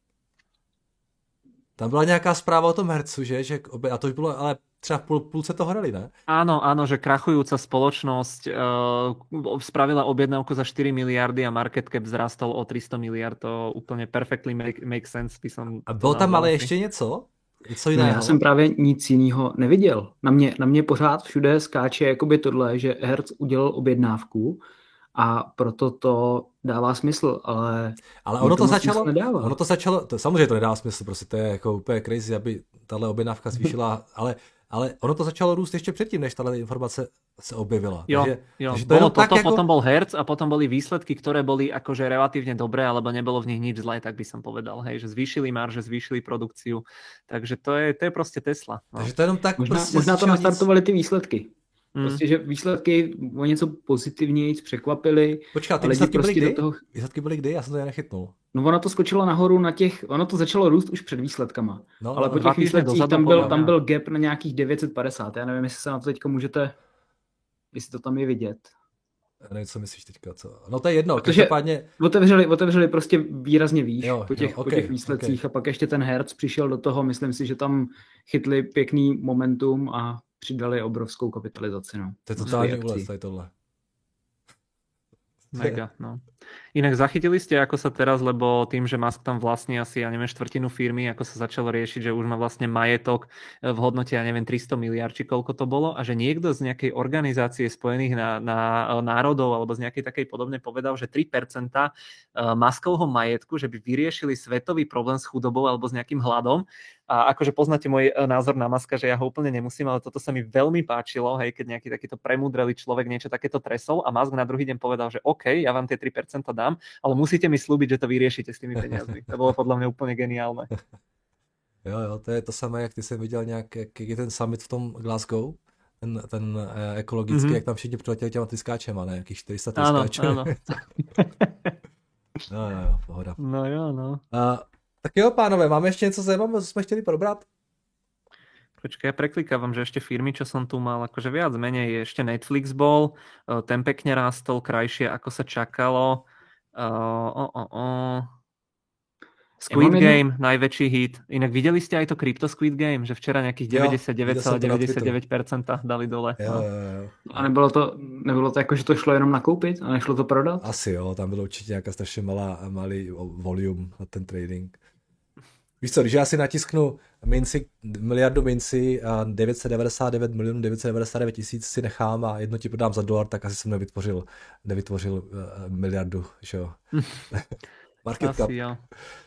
Tam byla nějaká zpráva o tom Hertzu, že a to už bylo, ale třeba v půlce toho hrali, ne? Áno, že krachujúca spoločnosť spravila objednávku za 4 miliardy a market cap vzrastol o 300 miliard. To úplně perfectly make sense. A bylo tam ale ještě něco? Něco jiného? No, já jsem právě nic jiného neviděl. Na mě pořád všude skáče jakoby tohle, že Hertz udělal objednávku a proto to dává smysl, ale ono to začalo, to samozřejmě to nedá smysl, prostě to je jako úplně crazy, aby tahle objednávka zvýšila, ale ono to začalo růst ještě předtím, než tahle informace se objevila. Jo. Takže bolo toto, jako... potom bol Hertz a potom boli výsledky, ktoré boli akože relatívne dobré, alebo nebolo v nich nič zlé, tak by som povedal, hej, že zvýšili marže, zvýšili produkciu, takže to je prostě Tesla. No. Takže to jenom tak možná to nastartovali ty výsledky. Prostě, že výsledky o něco pozitivněji překvapily. Počkat, ty výsledky byly kdy? Výsledky byly kdy? Já jsem to nechytnul. No ono to skočilo nahoru ono to začalo růst už před výsledkama. Ale po těch výsledcích tam byl gap na nějakých 950. Já nevím, jestli se na to teďka můžete, jestli to tam je vidět. Já nevím, co myslíš teďka, co? No to je jedno, každopádně... Otevřeli prostě výrazně výš po těch výsledcích a pak ještě ten Hertz přišel do toho, myslím si, že tam chytli pěkný momentum a přidali obrovskou kapitalizaci. No. To je totálně úles, tady tohle. Mega, no. Inak zachytili ste, ako sa teraz, lebo tým, že Musk tam vlastní asi, ja neviem, štvrtinu firmy, ako sa začalo riešiť, že už má vlastne majetok v hodnote, ja neviem, 300 miliard, či koľko to bolo, a že niekto z nejakej organizácie Spojených národov alebo z nejakej takej podobnej povedal, že 3% Muskovho majetku, že by vyriešili svetový problém s chudobou alebo s nejakým hladom. A akože poznáte môj názor na Muska, že ja ho úplne nemusím, ale toto sa mi veľmi páčilo, hej, keď nejaký takýto premúdrelý človek niečo takéto tresol a Musk na druhý deň povedal, že OK, ja vám tie 3% dám, ale musíte mi slúbiť, že to vyriešite s tými peniazmi. To bolo podľa mňa úplne geniálne. Jo, to je to samé, jak ty jsi viděl nějak, jak je ten summit v tom Glasgow, ten ekologický, jak tam všichni přiletěli těma tryskáčema, ne? Jakých 400 tryskáčů. Áno. No, pohoda. No jo, no. Tak jo, pánové, máme ještě něco zajímavého, co jsme chtěli probrat? Počkaj, ja preklikávam, že ešte firmy, čo som tu mal, akože viac menej, ešte Netflix bol, ten pekne rástol krajšie, ako sa čakalo. Squid Game, najväčší hit. Inak videli ste aj to Crypto Squid Game, že včera nejakých 99,99% dali dole. Jo. A nebylo to jako, že to šlo jenom nakoupit a nešlo to prodat? Asi jo, tam bylo určitě nějaká strašně malý volume na ten trading. Víš co, když já si natisknu miliardu minci a 999 milionů 999 tisíc si nechám a jedno ti prodám za $1, tak asi jsem nevytvořil miliardu, že jo. Market cap. Asi jo.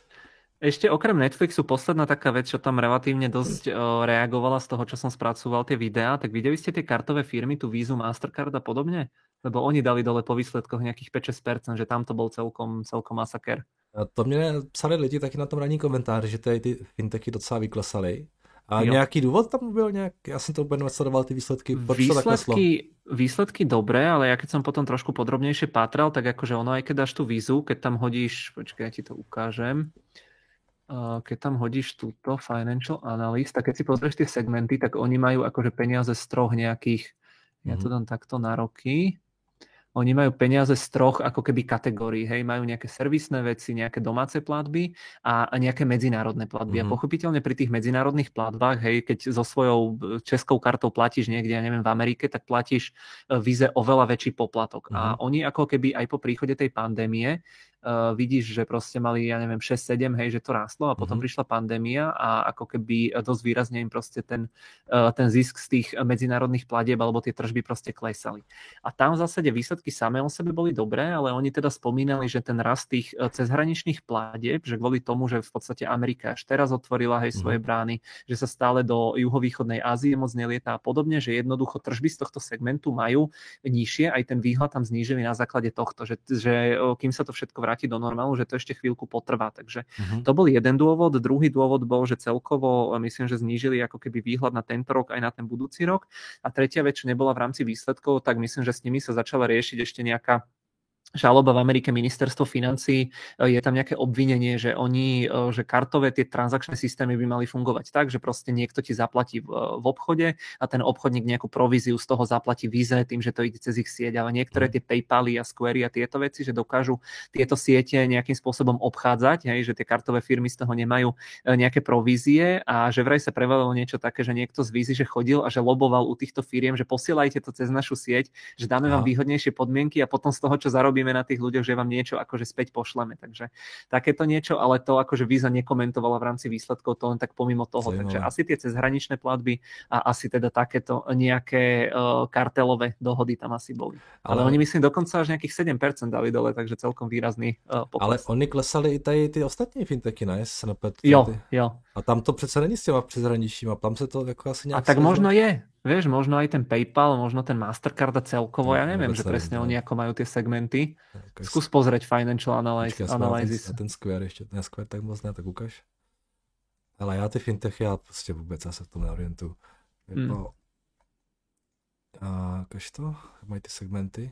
Ešte okrem Netflixu posledná taká vec, čo tam relatívne dosť reagovala z toho, čo som spracoval tie videá, tak videli ste tie kartové firmy, tu Visu, Mastercard a podobne? Lebo oni dali dole po výsledkoch nejakých 5-6%, že tam to bol celkom masaker. A to mě psali lidi taky na tom ranní komentáři, že ty fintechy docela vyklesaly. A jo. Nějaký důvod tam byl nějak? Já jsem to úplně nesledoval, ty výsledky. Výsledky dobré, ale ja keď som potom trošku podrobnejšie pátral, tak akože ono, aj keď dáš tú Visu, keď tam hodíš, počkaj, ja ti to ukážem, keď tam hodíš túto Financial Analyst, tak keď si pozrieš tie segmenty, tak oni majú akože peniaze z troch nejakých, ja to dám takto na roky, oni majú peniaze z troch ako keby kategórií, hej, majú nejaké servisné veci, nejaké domáce platby a nejaké medzinárodné platby. A pochopiteľne pri tých medzinárodných platbách, hej, keď so svojou českou kartou platíš niekde, ja neviem, v Amerike, tak platíš Vize oveľa väčší poplatok. A oni ako keby aj po príchode tej pandémie vidíš, že proste mali, ja neviem, 6-7, hej, že to rástlo a potom prišla pandémia a ako keby dosť výrazne im proste ten zisk z tých medzinárodných platieb alebo tie tržby proste klesali. A tam v zásade výsledky samé o sebe boli dobré, ale oni teda spomínali, že ten rast tých cezhraničných platieb, že kvôli tomu, že v podstate Amerika až teraz otvorila, hej, svoje brány, že sa stále do juhovýchodnej Ázie moc nelietá a podobne, že jednoducho tržby z tohto segmentu majú nižšie, aj ten výhľad tam znížili na základe tohto, že kým sa to všetko vráti do normálu, že to ešte chvíľku potrvá. Takže to bol jeden dôvod. Druhý dôvod bol, že celkovo myslím, že znížili ako keby výhľad na tento rok aj na ten budúci rok. A tretia vec, čo nebola v rámci výsledkov, tak myslím, že s nimi sa začala riešiť ešte nejaká žaloba v Amerike, ministerstvo financií, je tam nejaké obvinenie, že že kartové tie transakčné systémy by mali fungovať tak, že proste niekto ti zaplatí v obchode a ten obchodník nejakú províziu z toho zaplatí Vize tým, že to ide cez ich sieť, ale niektoré tie PayPaly a Squary a tieto veci, že dokážu tieto siete nejakým spôsobom obchádzať, hej, že tie kartové firmy z toho nemajú nejaké provízie a že vraj sa prevalilo niečo také, že niekto z Vizy, že chodil a že loboval u týchto firiem, že posielajte to cez našu sieť, že dáme vám výhodnejšie podmienky a potom z toho, čo zarobíme na tých ľuďoch, že vám niečo akože späť pošleme. Takže takéto niečo, ale to akože Visa nekomentovala v rámci výsledkov, to len tak pomimo toho. Takže asi tie cezhraničné platby a asi teda takéto nejaké kartelové dohody tam asi boli. Ale oni myslím dokonca až nejakých 7% dali dole, takže celkom výrazný pokles. Ale oni klesali i tady ty ostatní fintechy, ne? Jo. A tam to přece není s těma přeshraničníma, tam se to jako asi nějak... A tak možno je. Vieš, možno aj ten PayPal, možno ten Mastercard a celkovo, ja neviem, že presne oni ako majú tie segmenty. Skús pozrieť Financial Analysis. A ten Square ještě, ten Square tak moc ne, tak ukaž. Ale já ty fintechy, já prostě vůbec se v tom neorientuju. Ukaž to, mají ty segmenty.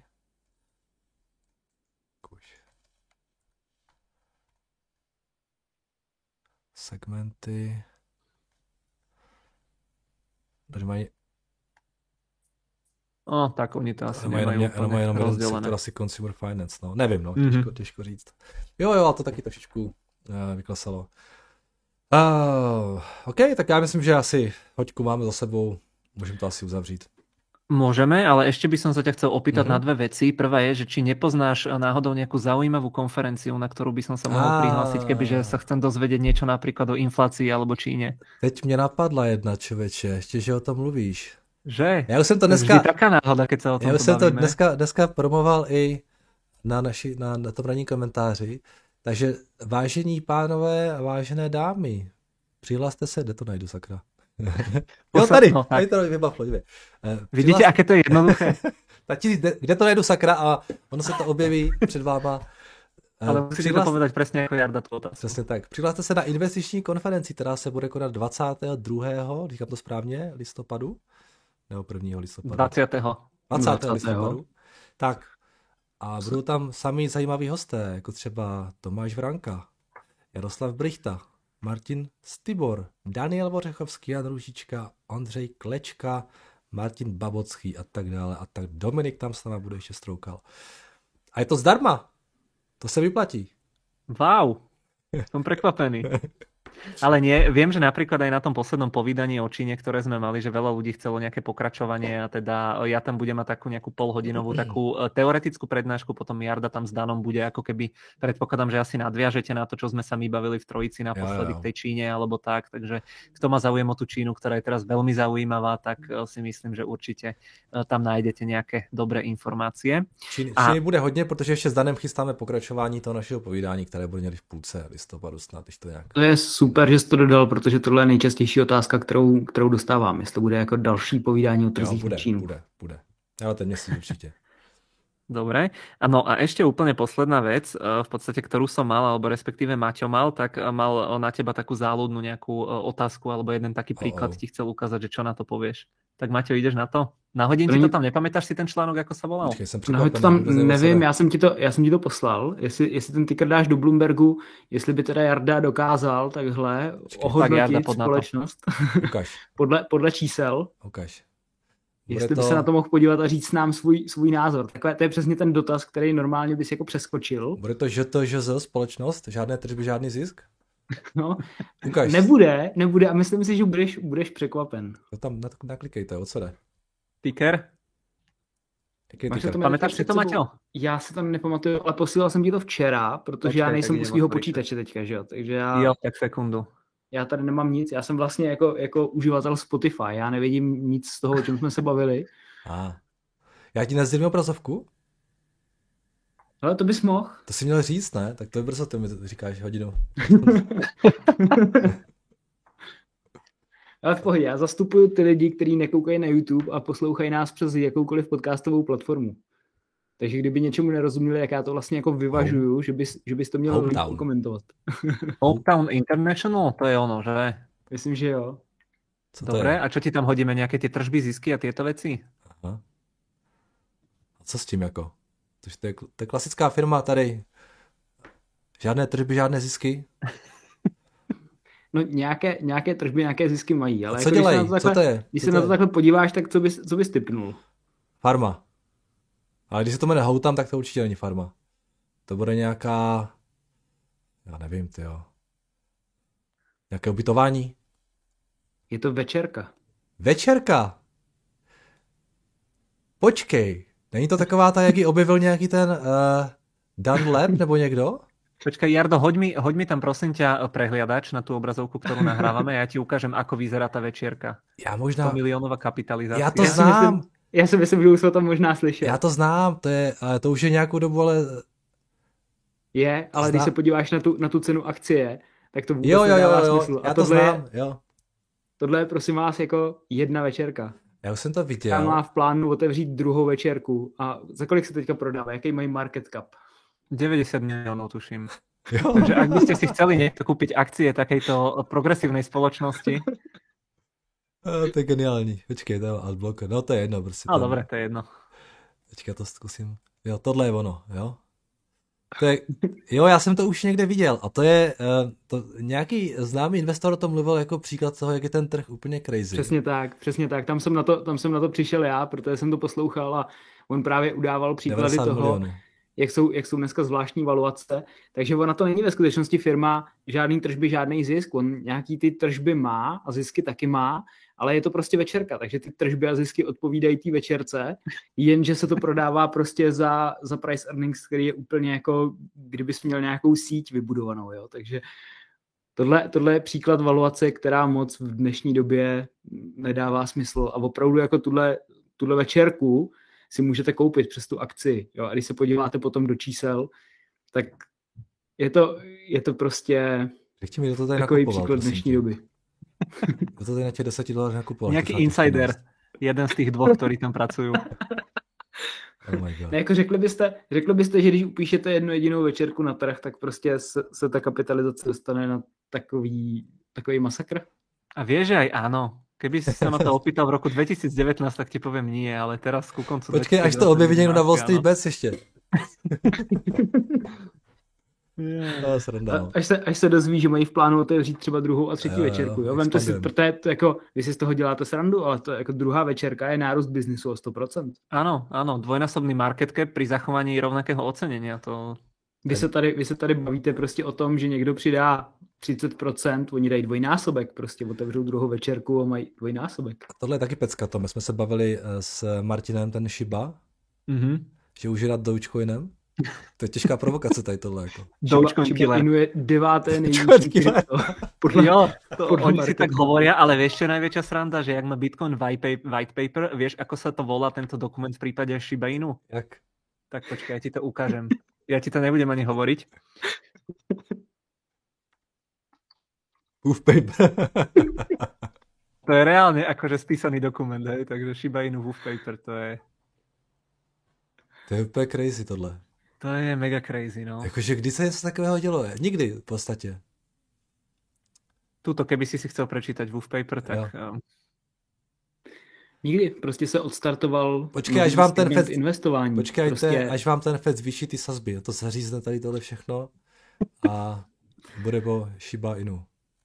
Segmenty. Takže mají... tak oni to asi nemají úplně rozdelené. To asi Consumer Finance, no. Nevím, no, těžko říct. Jo, a to taky trošičku vyklesalo. OK, tak já myslím, že asi hoďku máme za sebou, můžeme to asi uzavřít. Môžeme, ale ešte by som sa ťa chcel opýtať na dve veci. Prvá je, že či nepoznáš náhodou nejakú zaujímavú konferenciu, na ktorú by som sa mohol prihlásiť, kebyže sa chcem dozvedieť niečo napríklad o inflácii alebo Číne. Teď mě napadla jedna, člověče, ještě, že o tom mluvíš. Že? Já už jsem to dneska... Vždy taká náhoda, keď sa o tom Já už jsem to bavíme. dneska promoval i na tom ranní komentáři. Takže vážení pánové a vážené dámy, přihlaste se, kde to najdu, sakra. Jo, tady, No, tady to vybavlo. Vidíte, aké to je jednoduché? Kde to najdu, sakra, a ono se to objeví před váma. Ale musíte to povedať presne ako Jarda tú otázku. Přesně tak. Přihlaste se na investiční konferenci, která se bude konat 22. říkám to správně, listopadu? Nebo 1. listopadu? 20. listopadu. Tak. A budou tam sami zajímaví hosté, jako třeba Tomáš Vranka, Jaroslav Brichta, Martin Stibor, Daniel Vořechovský, Jan Růžička, Ondřej Klečka, Martin Babocký a tak dále. A tak Dominik tam s náma bude ještě stroukal. A je to zdarma. To se vyplatí. Wow, som prekvapený. Ale nie, viem, že napríklad aj na tom poslednom povídaní o Číne, ktoré sme mali, že veľa ľudí chcelo nejaké pokračovanie a teda ja tam budem mať takú nejakú polhodinovú takú teoretickú prednášku, potom Jarda tam s Danom bude ako keby, predpokladám, že asi nadviažete na to, čo sme sa my bavili v trojici naposledy k tej Číne alebo tak, takže kto má záujem o tú Čínu, ktorá je teraz veľmi zaujímavá, tak si myslím, že určite tam nájdete nejaké dobré informácie. Číny bude hodně, protože ještě s Danem chystáme pokračování toho našeho povídání, které bude někdy v půlce listopadu snad, když to nějak. To je super, že jsi to dodal, protože tohle je nejčastější otázka, kterou dostávám. Jestli to bude jako další povídání o trzích v Čínu. Bude. Ale ten měsíc určite. Dobre. No a ešte úplne posledná vec, v podstate, ktorú som mal, alebo respektíve Maťo mal, tak mal na teba takú záľudnú nejakú otázku, alebo jeden taký príklad ti chcel ukázať, že čo na to povieš. Tak Maťo, ideš na to? Nahodím ti to tam, nepamätáš si ten článok, ako sa volal? Nahoď to tam, nevím, já jsem ti to poslal, jestli ten ticker dáš do Bloombergu, jestli by teda Jarda dokázal takhle ohodnotit společnost podle čísel. Ukaž. Jestli by se na to mohl podívat a říct nám svůj názor. Takhle, to je přesně ten dotaz, který normálně bys jako přeskočil. Bude to ŽTŽZ společnost? Žádné tržby, žádný zisk? No, ukaž. Nebude a myslím si, že budeš překvapen. To tam naklikejte, o co jde? Ticker? Pamätáš si to, Maťo? Já si to nepamatuju, ale posílal jsem ti to včera, protože já nejsem u svého počítače teďka, že jo? Takže Jo, tak sekundu. Já tady nemám nic, já jsem vlastně jako uživatel Spotify, já nevidím nic z toho, o čem jsme se bavili. Já ti nezdivím obrazovku? Ale to bys mohl. To jsi měl říct, ne? Tak to je brzo, ty mi říkáš hodinu. Ale v pohodě, já zastupuju ty lidi, kteří nekoukají na YouTube a poslouchají nás přes jakoukoliv podcastovou platformu. Takže kdyby něčemu nerozuměli, jak já to vlastně jako vyvažuju, že bys to měl komentovat. Hometown International, to je ono, že? Myslím, že jo. Dobre, a čo ti tam hodíme? Nějaké ty tržby, zisky a tieto věci? Aha. A co s tím jako? To je klasická firma tady. Žádné tržby, žádné zisky. No nějaké tržby, nějaké zisky mají. Ale co jako dělají? Co to je? Když se na to takhle podíváš, tak co bys tipnul? Farma. Ale když se to jmenuje Hometown, tak to určitě není farma. To bude nějaká... Já nevím, tyjo. Nějaké ubytování? Je to večerka. Večerka? Počkej. Není to taková ta, jak ji objevil nějaký ten Dan Lab nebo někdo? Počkaj, Jardo, hoď mi tam prosím ťa prehliadač na tú obrazovku, ktorú nahrávame a ja ti ukážem, ako vyzerá tá večierka. Já možná... 100 miliónová kapitalizácia. Já to znám. Já si myslím, že už jsme to možná slyšeli. Já to znám, to už je nějakou dobu, ale... Je, ale když se podíváš na tu cenu akcie, tak to vůbec nedává smysl. Já to znám, jo. Tohle je prosím vás jako jedna večerka. Já už jsem to viděl. Já má v plánu otevřít druhou večerku. A za kolik se teďka prodává? Jaký mají market cap? 90 miliónov, tuším. Jo. Takže ak by ste si chceli niekto kúpiť akcie takejto progresívnej spoločnosti. To je geniální. Počkej, to je adblocker. No to je jedno. Prostě no dobré, to je jedno. Teďka to zkusím. Jo, tohle je ono, jo. Jo, já jsem to už někde viděl a to je, nějaký známý investor o tom mluvil jako příklad toho, jak je ten trh úplně crazy. Přesně tak. Tam jsem na to přišel já, protože jsem to poslouchal a on právě udával příklady toho, jak jsou dneska zvláštní valuace, takže ona to není ve skutečnosti firma žádný tržby, žádný zisk, on nějaký ty tržby má a zisky taky má, ale je to prostě večerka, takže ty tržby a zisky odpovídají té večerce, jenže se to prodává prostě za price earnings, který je úplně jako, kdybys měl nějakou síť vybudovanou, jo, takže tohle je příklad valuace, která moc v dnešní době nedává smysl a opravdu jako tuhle večerku si můžete koupit přes tu akci. Jo? A když se podíváte potom do čísel, tak je to prostě takový příklad dnešní doby. Kdo to tady na těch $10 nakupoval? Nějaký insider. Jeden z těch dvou, ktorí tam pracují. Oh my God. Ne, jako řekli byste, že když upíšete jednu jedinou večerku na trh, tak prostě se ta kapitalizace dostane na takový masakr? A vieš, že aj áno. Keby si sa ma to opýtal v roku 2019, tak ti poviem nie, ale teraz ku koncu... Počkej, až to objeví někdo na Wall Street Bets ještě. Až se dozví, že mají v plánu otevřít třeba druhou a třetí večerku. Jo? Vemte si, protože to jako, vy si z toho děláte srandu, ale to jako druhá večerka je nárůst biznisu o 100%. Áno, dvojnásobný market cap pri zachovaní rovnakého ocenenia. Vy se tady bavíte prostě o tom, že někdo přidá 30%, oni dají dvojnásobek, prostě otevřou druhou večerku a mají dvojnásobek. A tohle je taky pecka, to. My jsme se bavili s Martinem, ten Shiba, že už je nad Dogecoinem. To je těžká provokace tady tohle. Jako. Dogecoin killer. Je 9. nejvyšší krypto. Oni si tak hovoria, ale vieš, čo je najväčšia sranda, že jak má Bitcoin white paper, vieš, ako sa to volá tento dokument v prípade Shiba Inu? Jak? Tak počkaj, ja ti to ukážem. Ja ti to nebudem ani hovoriť. Wolf paper. To je reálne akože spísaný dokument, hej? Takže Shiba Inu Wolf paper, to je... To je úplně crazy tohle. To je mega crazy, no. Jakože kdy se něco takového dělo? Nikdy v podstatě. Tuto, keby si chcel prečítať Wolf paper, tak... Nikdy, prostě se odstartoval až vám ten FED investování. Počkejte, prostě... až vám ten FED zvýší ty sazby. To zařízne tady tohle všechno a bude po Shiba Inu.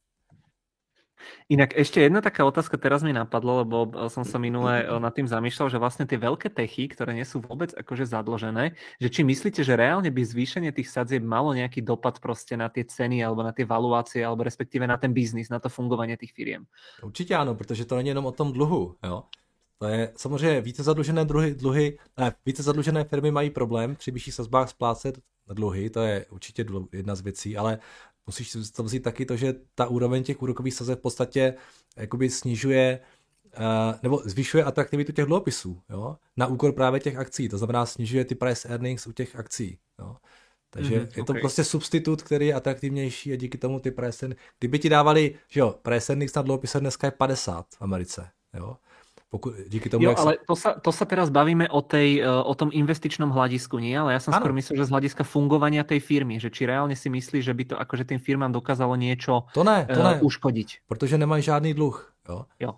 Inak ešte jedna taká otázka teraz mi napadlo, lebo som sa minule nad tým zamýšľal, že vlastne tie veľké techy, ktoré nie sú vôbec akože zadlžené, že či myslíte, že reálne by zvýšenie tých sadzieb malo nejaký dopad proste na tie ceny alebo na tie valuácie alebo respektíve na ten biznis, na to fungovanie tých firiem? Určitě ano, protože to není jenom o tom dluhu, jo. To je samozřejmě více zadlužené firmy mají problém při vyšších sazbách splácet dluhy, to je určitě jedna z věcí, ale musíš to vzít taky to, že ta úroveň těch úrokových sazeb v podstatě jakoby snižuje nebo zvyšuje atraktivitu těch dluhopisů, jo, na úkor právě těch akcí, to znamená snižuje ty price earnings u těch akcí, jo. Takže je to prostě substitut, který je atraktivnější a díky tomu ty price earnings, kdyby ti dávali, že jo, price earnings na dluhopise dneska je 50 v Americe, jo. Díky tomu, ale to sa teraz bavíme o tom investičnom hľadisku, nie? Ale ja som skôr myslel, že z hľadiska fungovania tej firmy, že či reálne si myslíš, že by to akože tým firmám dokázalo niečo to ne. uškodiť. Protože nemají žádný dluh. Jo.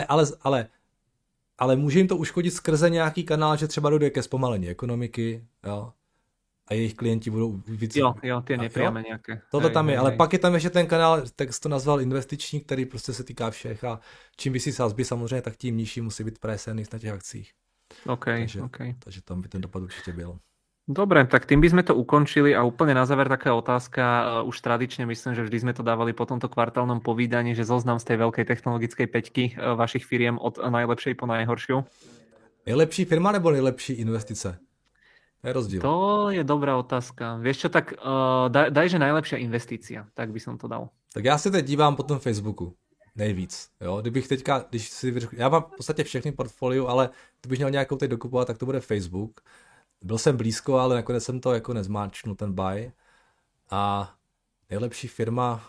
Ale může jim to uškodit skrze nějaký kanál, že třeba dojde ke zpomalení ekonomiky, jo? A jejich klienti budou víc... Jo, tie nepriame nejaké. Toto tam je, ale pak je tam ještě ten kanál, tak jsi to nazval investiční, který prostě se týká všech a čím vyšší sazby samozřejmě, tak tím nižší musí být price earnings na těch akcích. Takže tam by ten dopad určitě byl. Dobre, tak tým by sme to ukončili a úplne na záver taká otázka, už tradične myslím, že vždy sme to dávali po tomto kvartálnom povídaní, že zoznam z tej veľkej technologickej peťky vašich firiem od najlepšej po najhoršiu. Nejlepší firma nebo nejlepší investice? Je rozdíl. To je dobrá otázka. Vieš čo, tak daj, že najlepšia investícia, tak by som to dal. Tak já se teď dívám po tom Facebooku. Nejvíc. Jo? Já mám v podstatě všechny portfolio, ale kdybych měl nějakou teď dokupovat, tak to bude Facebook. Byl jsem blízko, ale nakonec jsem to jako nezmáčknul, ten buy. A nejlepší firma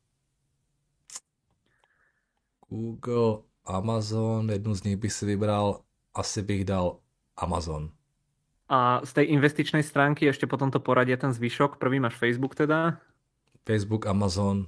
Google, Amazon, jednu z nich bych si vybral, asi bych dal Amazon. A z tej investičnej stránky ešte po tomto poradie ten zvyšok, prvý máš Facebook teda? Facebook, Amazon,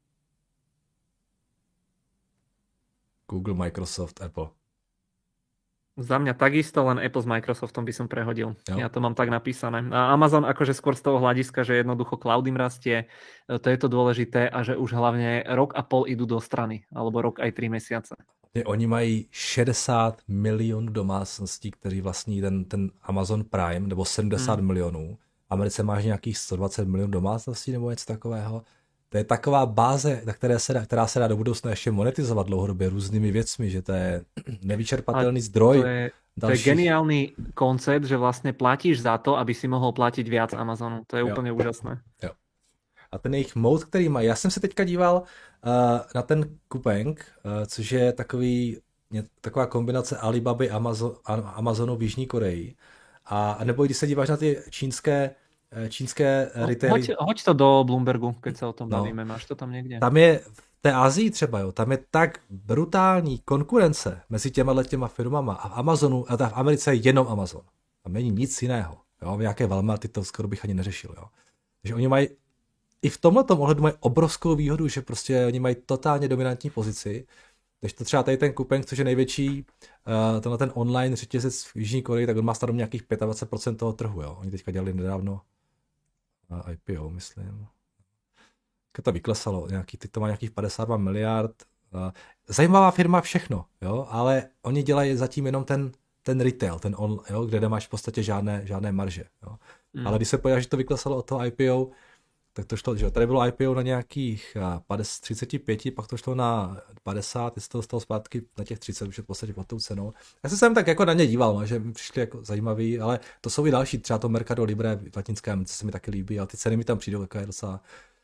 Google, Microsoft, Apple. Za mňa takisto, len Apple s Microsoftom by som prehodil. Jo. Ja to mám tak napísané. A Amazon akože skôr z toho hľadiska, že jednoducho cloud im rastie, to je to dôležité a že už hlavne rok a pol idú do strany, alebo rok aj 3 mesiace. Oni mají 60 milionů domácností, kteří vlastní ten Amazon Prime, nebo 70 milionů. Americe máš nějakých 120 milionů domácností nebo něco takového. To je taková báze, která se dá do budoucna ještě monetizovat dlouhodobě různými věcmi, že to je nevyčerpatelný zdroj. To je geniálny koncept, že vlastne platíš za to, aby si mohol platiť viac Amazonu. To je úplne úžasné. Jo. A ten jejich mode, který mají, já jsem se teďka díval na ten Coupang, což je taková kombinace Alibaby Amazonu v Jižní Koreji. A nebo když se díváš na ty čínské retaily. Hoď to do Bloombergu, keď sa o tom bavíme. Máš to tam někde? Tam je v té Asii třeba, jo, tam je tak brutální konkurence mezi těma firmama a v Amazonu, a v Americe je jenom Amazon. Tam není nic jiného. Jo, nějaké Walmarty to skoro bych ani neřešil. Jo. Takže oni mají i v tomhletom ohledu mají obrovskou výhodu, že prostě oni mají totálně dominantní pozici. Takže to třeba tady ten Coupang, což je největší ten online řetězec v Jižní Koreji, tak on má starom nějakých 25% toho trhu. Jo. Oni teďka dělali nedávno IPO, myslím. To vyklesalo, teď to má nějakých 52 miliard. Zajímavá firma všechno, jo, ale oni dělají zatím jenom ten retail, jo, kde nemáš v podstatě žádné marže. Jo. Ale když se podíváš, že to vyklesalo od toho IPO, tak to šlo, že tady bylo IPO na nějakých 35, pak to šlo na 50, jestli to dostalo zpátky na těch 30, už je v podstatě pod tou cenou. Já jsem tak jako na ně díval, no, že mi přišli jako zajímavý, ale to jsou i další, třeba to Mercado Libre v Latinské Americe se mi taky líbí, ale ty ceny mi tam přijdou jako docela,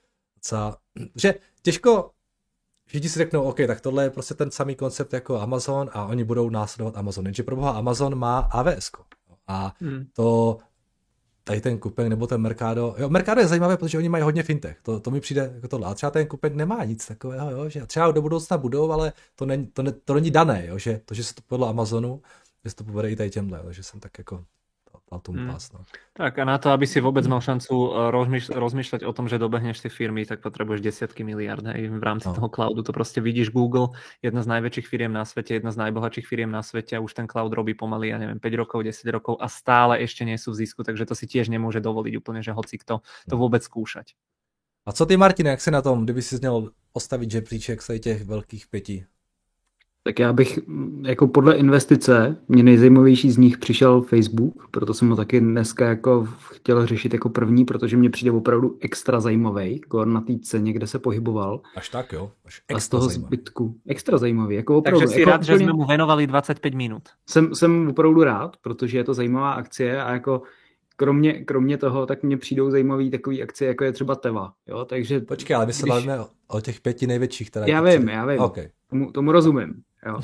že těžko všichni si řeknou, OK, tak tohle je prostě ten samý koncept jako Amazon a oni budou následovat Amazon, jenže pro boha Amazon má AWS a to tady ten Coupang nebo ten Mercado. Jo, Mercado je zajímavé, protože oni mají hodně fintech. To mi přijde jako tohle. A třeba ten Coupang nemá nic takového, jo, že třeba do budoucna budou, ale to není dané, jo, že to, že se to podle Amazonu, že se to povede i tady těmhle, takže jsem tak jako tomu pás. No. Tak a na to, aby si vôbec mal šancu rozmýšľať o tom, že dobehneš tie firmy, tak potrebuješ desiatky miliárd v rámci toho cloudu. To proste vidíš Google, jedna z najväčších firiem na svete, jedna z najbohatších firiem na svete a už ten cloud robí pomaly, ja neviem, 5 rokov, 10 rokov a stále ešte nie sú v zisku, takže to si tiež nemôže dovoliť úplne, že hoci kto to vôbec skúšať. A co ty, Martine, jak si na tom, kdyby si měl postavit žebříček z těch velkých 5? Tak já bych, jako podle investice, mě nejzajímavější z nich přišel Facebook, proto jsem ho taky dneska jako chtěl řešit jako první, protože mě přijde opravdu extra zajímavý, na té ceně, kde se pohyboval. Až tak, jo? A z toho zbytku. Extra zajímavý, jako opravdu. Takže si jako rád, že jsme mu venovali 25 minut. Jsem opravdu rád, protože je to zajímavá akcie a jako kromě toho, tak mně přijdou zajímavý takový akcie, jako je třeba Teva. Jo? Takže počkej, ale my se bavíme o těch 5 největších. Teda já vím. Okay. Tomu rozumím. Jo.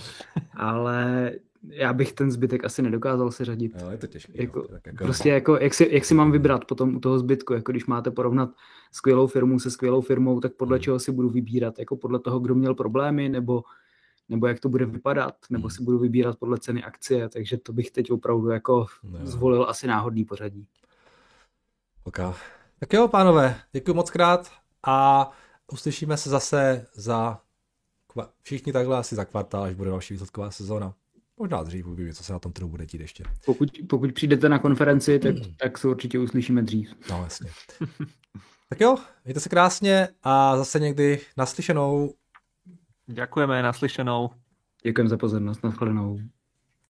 Ale já bych ten zbytek asi nedokázal seřadit. Jo, je to těžké. Jako, prostě jako, jak si mám vybrat potom u toho zbytku, jako když máte porovnat skvělou firmu se skvělou firmou, tak podle čeho si budu vybírat? Jako podle toho, kdo měl problémy, nebo jak to bude vypadat, nebo si budu vybírat podle ceny akcie, takže to bych teď opravdu jako zvolil asi náhodný pořadí. Okay. Tak jo, pánové, děkuji moc krát a uslyšíme se zase všichni takhle asi za kvartál, až bude další výsledková sezóna. Možná dřív uvidíme, co se na tom trhu bude dít ještě. Pokud přijdete na konferenci, tak se určitě uslyšíme dřív. No, jasně. Tak jo, mějte se krásně a zase někdy naslyšenou. Ďakujeme, naslyšenou. Děkujeme za pozornost, nashledanou.